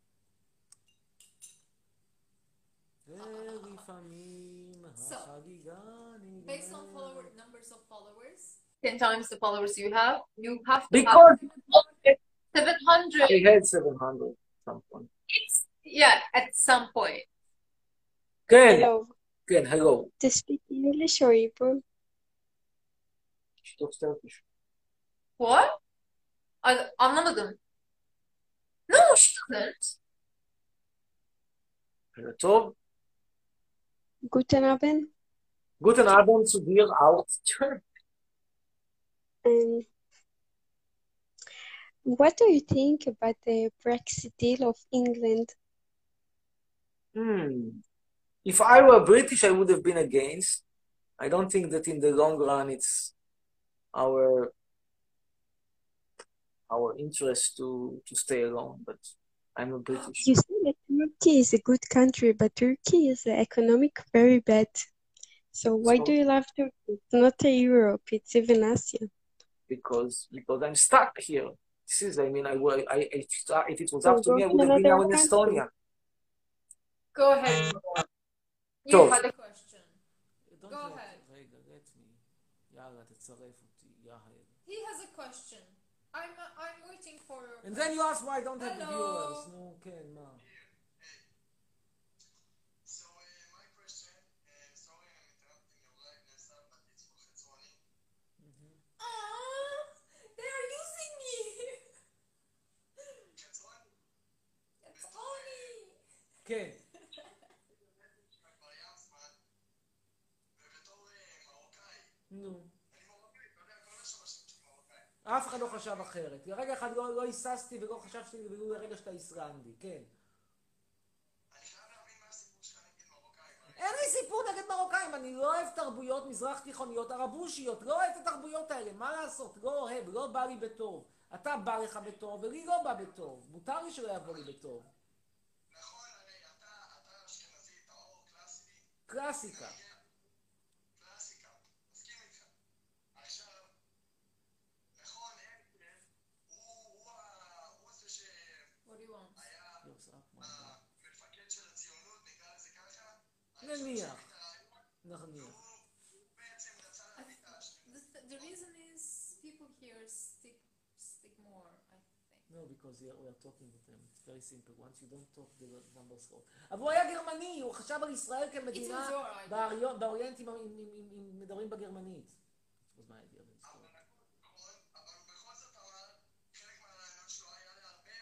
ולפעמים החגיגה נגמרת. Based on follower numbers of followers. Ten times the followers you have, you have to Because have seven hundred. I had seven hundred at some point. It's, yeah, at some point. כן, Hello. כן, hello. To speak English or Hebrew? שתוק Turkish. What? I, anlamadım. No, she doesn't. טוב. Guten Abend. Guten Abend zu dir auch. Um, what do you think about the Brexit deal of England? Hmm. If I were British, I would have been against. I don't think that in the long run it's our our interest to to stay alone. But I'm a British. You say that Turkey is a good country, but Turkey is uh, economic very bad. So why So- do you love Turkey? It's not a Europe, it's even Asia. because because I'm stuck here. This is, I mean, I, wa- I, if if it was So up to go me, I to would have been another now in country. Estonia. Go ahead. You טוב. had a question. Don't Go let- ahead. רגע, let me. יאללה, תצרף אותי, יאהל. He has a question. I'm uh, I'm waiting for your And then you ask why I don't have the Hello. viewers. נו, כן, מה? Ah, they are using me. It's funny. כן. נו. אף אחד לא חשב אחרת. לרגע אחד לא לא היססתי ולא חשבתי ולו לרגע שאתה איסלנדי, כן. אין לי סיפור נגד מרוקאים, אני לא אוהב תרבויות מזרח תיכוניות ערבושיות, לא אוהב את התרבויות האלה, מה לעשות? לא אוהב, לא בא לי בטוב. אתה בא לך בטוב ולי לא בא בטוב. מותר לי שלא יבוא לי בטוב. קלאסיקה. What do you want? נניח. נניח. The, the reason is people here stick stick more, I think. No, because we are, we are talking with them. It's very simple. Once you don't talk, the numbers go. אבל הוא היה גרמני, הוא חשב על ישראל כמדינה It was your idea. באריון- באוריינט אם- אם- אם- אם- אם מדברים בגרמנית. It was my idea. but it's cool.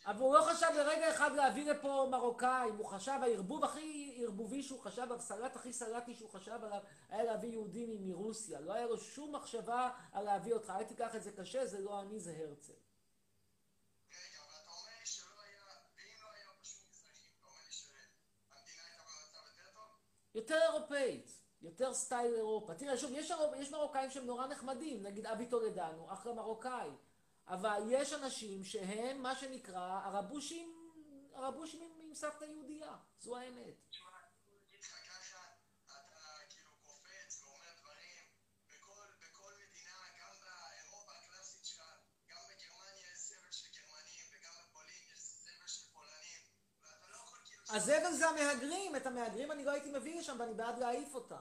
אבל הוא לא חשב לרגע אחד להביא לפה מרוקאים, הוא חשב, הערבוב הכי ערבובי שהוא חשב, הסלט הכי סלטי שהוא חשב עליו, היה להביא יהודים מרוסיה. לא היה לו שום מחשבה על להביא אותך. אל תיקח את זה קשה, זה לא אני, זה הרצל. רגע, אבל אתה אומר לי שלא היה, ואם לא היה פשוט מזרחים, אתה אומר לי שהמדינה הייתה במצב יותר טוב? יותר אירופאית, יותר סטייל אירופה. תראה, שוב, יש, יש מרוקאים שהם נורא נחמדים, נגיד אבי טולדנו, אחלה מרוקאי. אבל יש אנשים שהם, מה שנקרא, הרבושים, הרבושים עם, עם סבתא יהודייה. זו האמת. תשמע, אני אגיד לך ככה, אתה כאילו קופץ ואומר דברים, בכל, בכל מדינה, גם באירופה הקלאסית שלך, גם בגרמניה יש סבל של גרמנים, וגם בפולין יש סבל של פולנים, ואתה לא יכול כאילו... הזבל זה המהגרים, את המהגרים אני לא הייתי מביא לשם, ואני בעד להעיף אותם.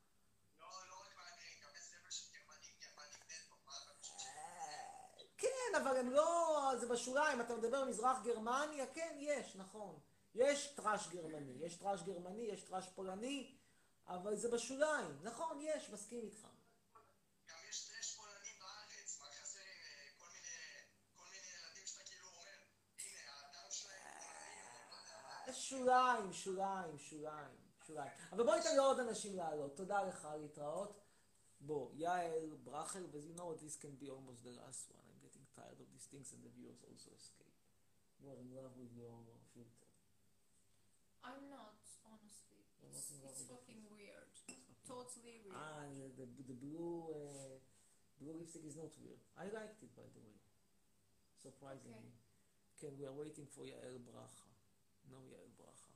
כן, אבל הם לא... זה בשוליים, אתה מדבר במזרח גרמניה, כן, יש, נכון. יש טראש גרמני, יש טראש גרמני, יש טראש פולני, אבל זה בשוליים. נכון, יש, מסכים איתך. גם יש טראש פולנים בארץ, מה חסר עם כל מיני, כל מיני ילדים שאתה כאילו אומר, הנה, האדם שלהם פולני, שוליים, שוליים, שוליים, שוליים. אבל בוא ניתן לעוד אנשים לעלות. תודה לך, להתראות. בוא, יעל, ברכר, ו- you know this can be almost the last one. I'm getting tired of these things and the viewers also escape. You are in love with your filter. I'm not, honestly. You're not It's, in love it's with your fucking filter. weird. Totally weird. Ah, the, the, the blue, uh, blue lipstick is not weird. I liked it, by the way. Surprisingly. Okay, we are waiting for Yael Bracha. No Yael Bracha.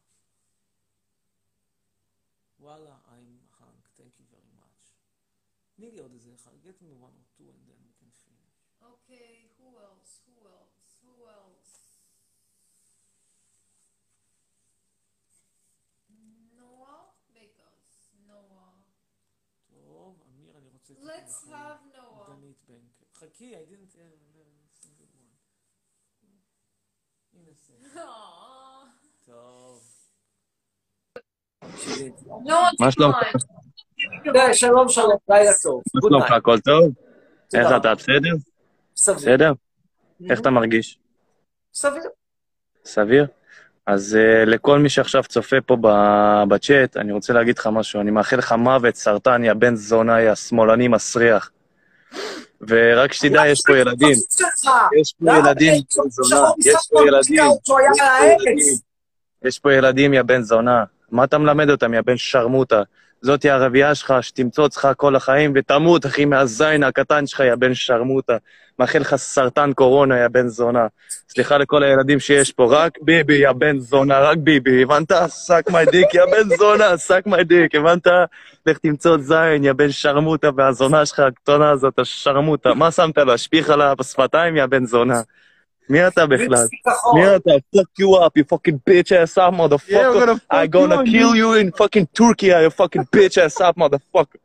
Voila, I'm hung. Thank you very much. תני לי עוד איזה אחד. Get me one or two and then we can finish. Okay, who else? Who else? Who else? Noah Vegas. Noah. טוב, אמיר, אני רוצה... Let's have Noah. דנית בנקר. חכי, I didn't... uh, single one. הנה זה. טוב. מה שלומך? שלום שלום, לילה טוב. מה שלומך, הכל טוב? איך אתה, בסדר? בסדר? איך אתה מרגיש? סביר. סביר? אז uh, לכל מי שעכשיו צופה פה בצ'אט, אני רוצה להגיד לך משהו, אני מאחל לך מוות, סרטן, יא בן זונה, יא שמאלני מסריח. ורק שתדע, יש פה ילדים. יש פה ילדים, זונה. יש פה ילדים. יש פה ילדים, יא בן זונה. מה אתה מלמד אותם, יא בן שרמוטה? זאת היא הרבייה שלך, שתמצוץ לך כל החיים, ותמות, אחי, מהזין הקטן שלך, יא בן שרמוטה. מאחל לך סרטן קורונה, יא בן זונה. סליחה לכל הילדים שיש פה, רק ביבי, יא בן זונה, רק ביבי, הבנת? סק מי דיק, יא בן זונה, סק מי דיק, הבנת? לך תמצוץ זין, יא בן שרמוטה, והזונה שלך, הקטונה הזאת, השרמוטה. מה שמת לו? השפיך עליו בשפתיים, יא בן זונה. מי אתה בכלל? מי אתה? Fuck you up, you fucking bitch ass up, motherfucker. I'm gonna kill you in fucking Turkey, you fucking bitch ass up, motherfucker.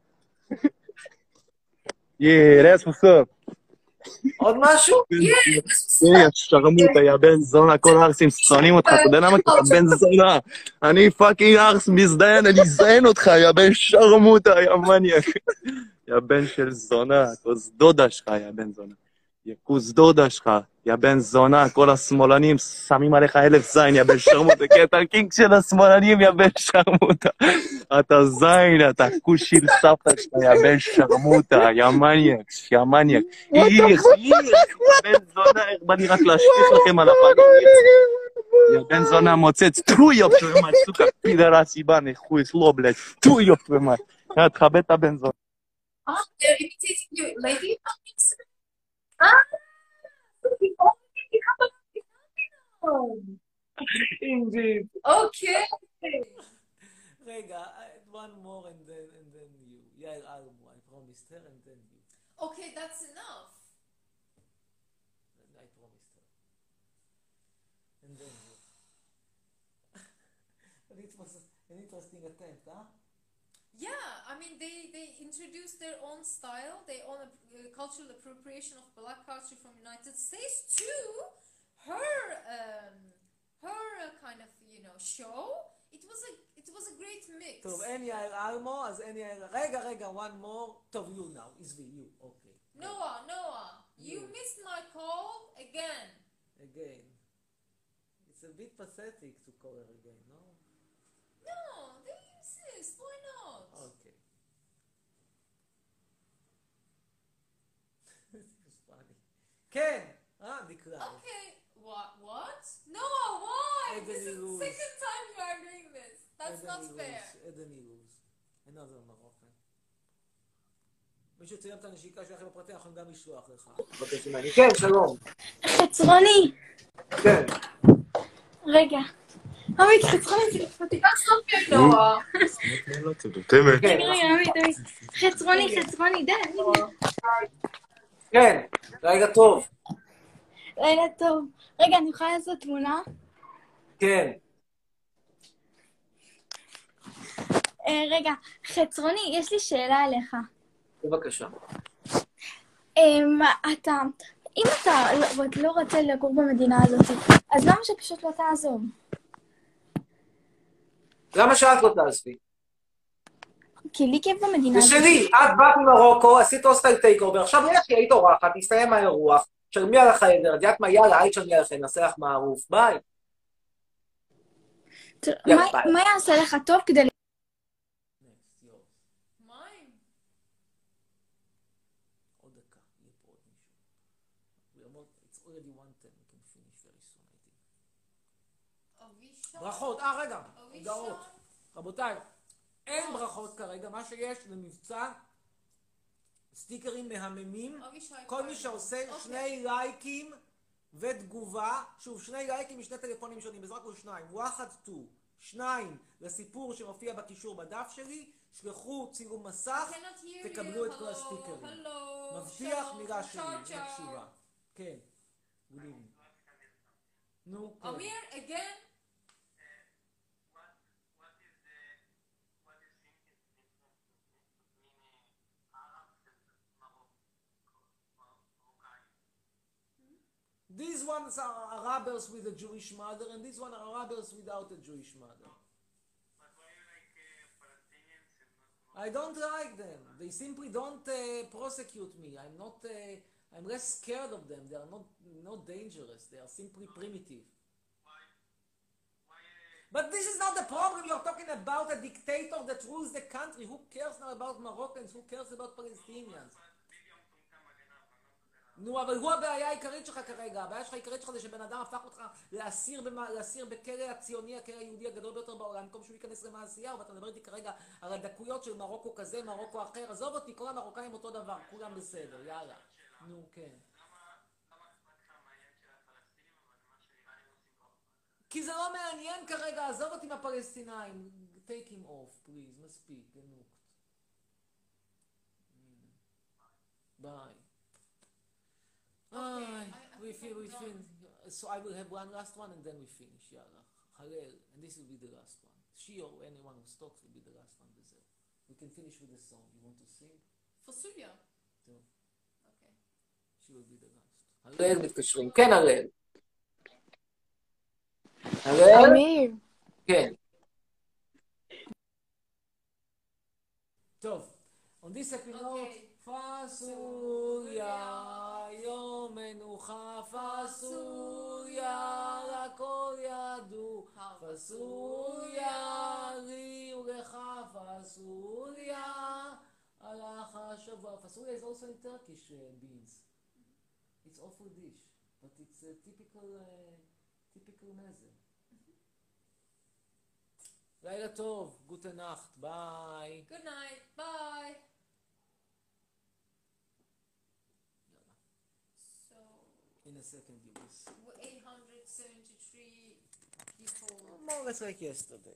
Yeah, that's what's up. עוד משהו? כן, שרמוטה, יא בן זונה, כל הארסים שונאים אותך, אתה יודע למה? כי אתה בן זונה. אני פאקינג ארס מזדיין, אני אזיין אותך, יא בן שרמוטה, יא מניאק. יא בן של זונה, כוס דודה שלך, יא בן זונה. יא כוס דודה שלך, יא בן זונה, כל השמאלנים שמים עליך אלף זין, יא בן שרמוטה, כי אתה קינג של השמאלנים, יא בן שרמוטה. אתה זין, אתה כוס של סבתא שלך, יא בן שרמוטה, יא מניאק, יא מניאק. איך, איך, יא בן זונה, איך בא לי רק להשפיך לכם על הפנים, יא בן זונה מוצץ, טוי יופ ומאי, סוכה פידרס איבן, חוי סלו בלד, טוי יופ ומאי. יא, תכבד את הבן זונה. Ah, they're imitating you, lady. Ah, Indeed. okay. רגע, one more and then and then you. יעל אלמו, I promised her and then you. Okay, that's enough. I promised her. And then you. But it was an interesting attempt, huh? Yeah, I mean, they, they introduced their own style, their own uh, cultural appropriation of black culture from United States to her, um, her uh, kind of, you know, show. It was a, it was a great mix. טוב, אין יעל אלמו, אז אין יעל... רגע, רגע, one more. טוב, you now. עזבי, you. Okay. Noah, Noah, you missed my call again. Again. It's a bit pathetic to call her again, no? No, they insist. Why not? Okay. This is funny. כן, אה, נקרא. Okay. What? What? No, why? Ebony This is the Rose. second time you are doing this. That's not fair. Ebony Rose. Another Moroccan. מישהו צילם את הנשיקה שלכם בפרטי, אנחנו גם לשלוח לך. בבקשה ממני. כן, שלום. חצרוני! כן. רגע. עמית, חצרוני, זה לפרטי. רגע, רגע, עמית, עמית. חצרוני, חצרוני, די. כן, רגע טוב. לילה טוב. רגע, אני יכולה לעשות תמונה? כן. אה, רגע, חצרוני, יש לי שאלה אליך. בבקשה. אמ, אתה, אם אתה לא- לא רוצה לגור במדינה הזאת, אז למה שפשוט לא תעזוב? למה שאת לא תעזבי? כי לי כיף במדינה זה הזאת. שלי, את באת ממרוקו, עשית הוסטל טייק אובר, עכשיו לכי, היית אורחת, תסתיים האירוח, תשלמי על החדר, את יודעת מה, יאללה, היית תשלמי עליכם, נעשה לך מערוף, ביי. ת- יאללה, מה- ביי. מה יעשה לך טוב כדי... Mine. עוד דקה, יהיה פה עוד מישהו. We are not- It's already one ten, we can finish very soon, I think. Avisha. ברכות, אה רגע, אבישי. הודעות. רבותיי, אין ברכות כרגע, מה שיש זה מבצע סטיקרים מהממים. אבישי כל מי כהן. שעושה אוקיי. שני לייקים ותגובה, שוב, שני לייקים משני טלפונים שונים, בעזרת כול שניים, וואחד טו, שניים לסיפור שמופיע בקישור בדף שלי, שלחו צילום מסך, cannot hear תקבלו you. את כל Hello, הסטיקרים. hello, מבטיח שלום, מילה שלי, צ'או, צ'או. מקשיבה. כן, גודים. נו, כן. אמיר, again? These ones are Arabs with a Jewish mother, and these ones are Arabs without a Jewish mother. I don't like them. They simply don't uh, prosecute me. I'm not. Uh, I'm less scared of them. They are not not dangerous. They are simply primitive. But this is not the problem. You're talking about a dictator that rules the country. Who cares now about Moroccans? Who cares about Palestinians? נו, אבל הוא הבעיה העיקרית שלך כרגע. הבעיה שלך העיקרית שלך זה שבן אדם הפך אותך לאסיר, במה, לאסיר בכלא הציוני, הכלא היהודי הגדול ביותר בעולם, במקום שהוא ייכנס למעשייה, ואתה מדבר איתי כרגע על הדקויות של מרוקו כזה, מרוקו אחר. עזוב אותי, כל המרוקאים אותו דבר, כולם בסדר, יאללה. נו, כן. כי זה לא מעניין כרגע, עזוב אותי מהפלסטינאים. Take him off, please, מספיק, גנוקת. ביי. Okay, we feel, we feel. So I will have one last one and then we finish. Yalla. Halel, and this will be the last one. She or anyone who talks will be the last one. There. We can finish with a song. You want to sing? Fasulia. No. Okay. She will be the last. הראל מתקשרים. כן, הראל. הראל? אמיר. כן. טוב. On this happy note, פסוליה, יום מנוחה, פסוליה, לכל ידעו, פסוליה, לי ולך, פסוליה, הלך השבוע. פסוליה is also in Turkish uh, beans. It's awful dish, but it's a typical, uh, typical מזה. לילה טוב, גוטה נחט, ביי. Good night. Bye. So, In a second you will see. eight hundred seventy-three people. More or less like yesterday.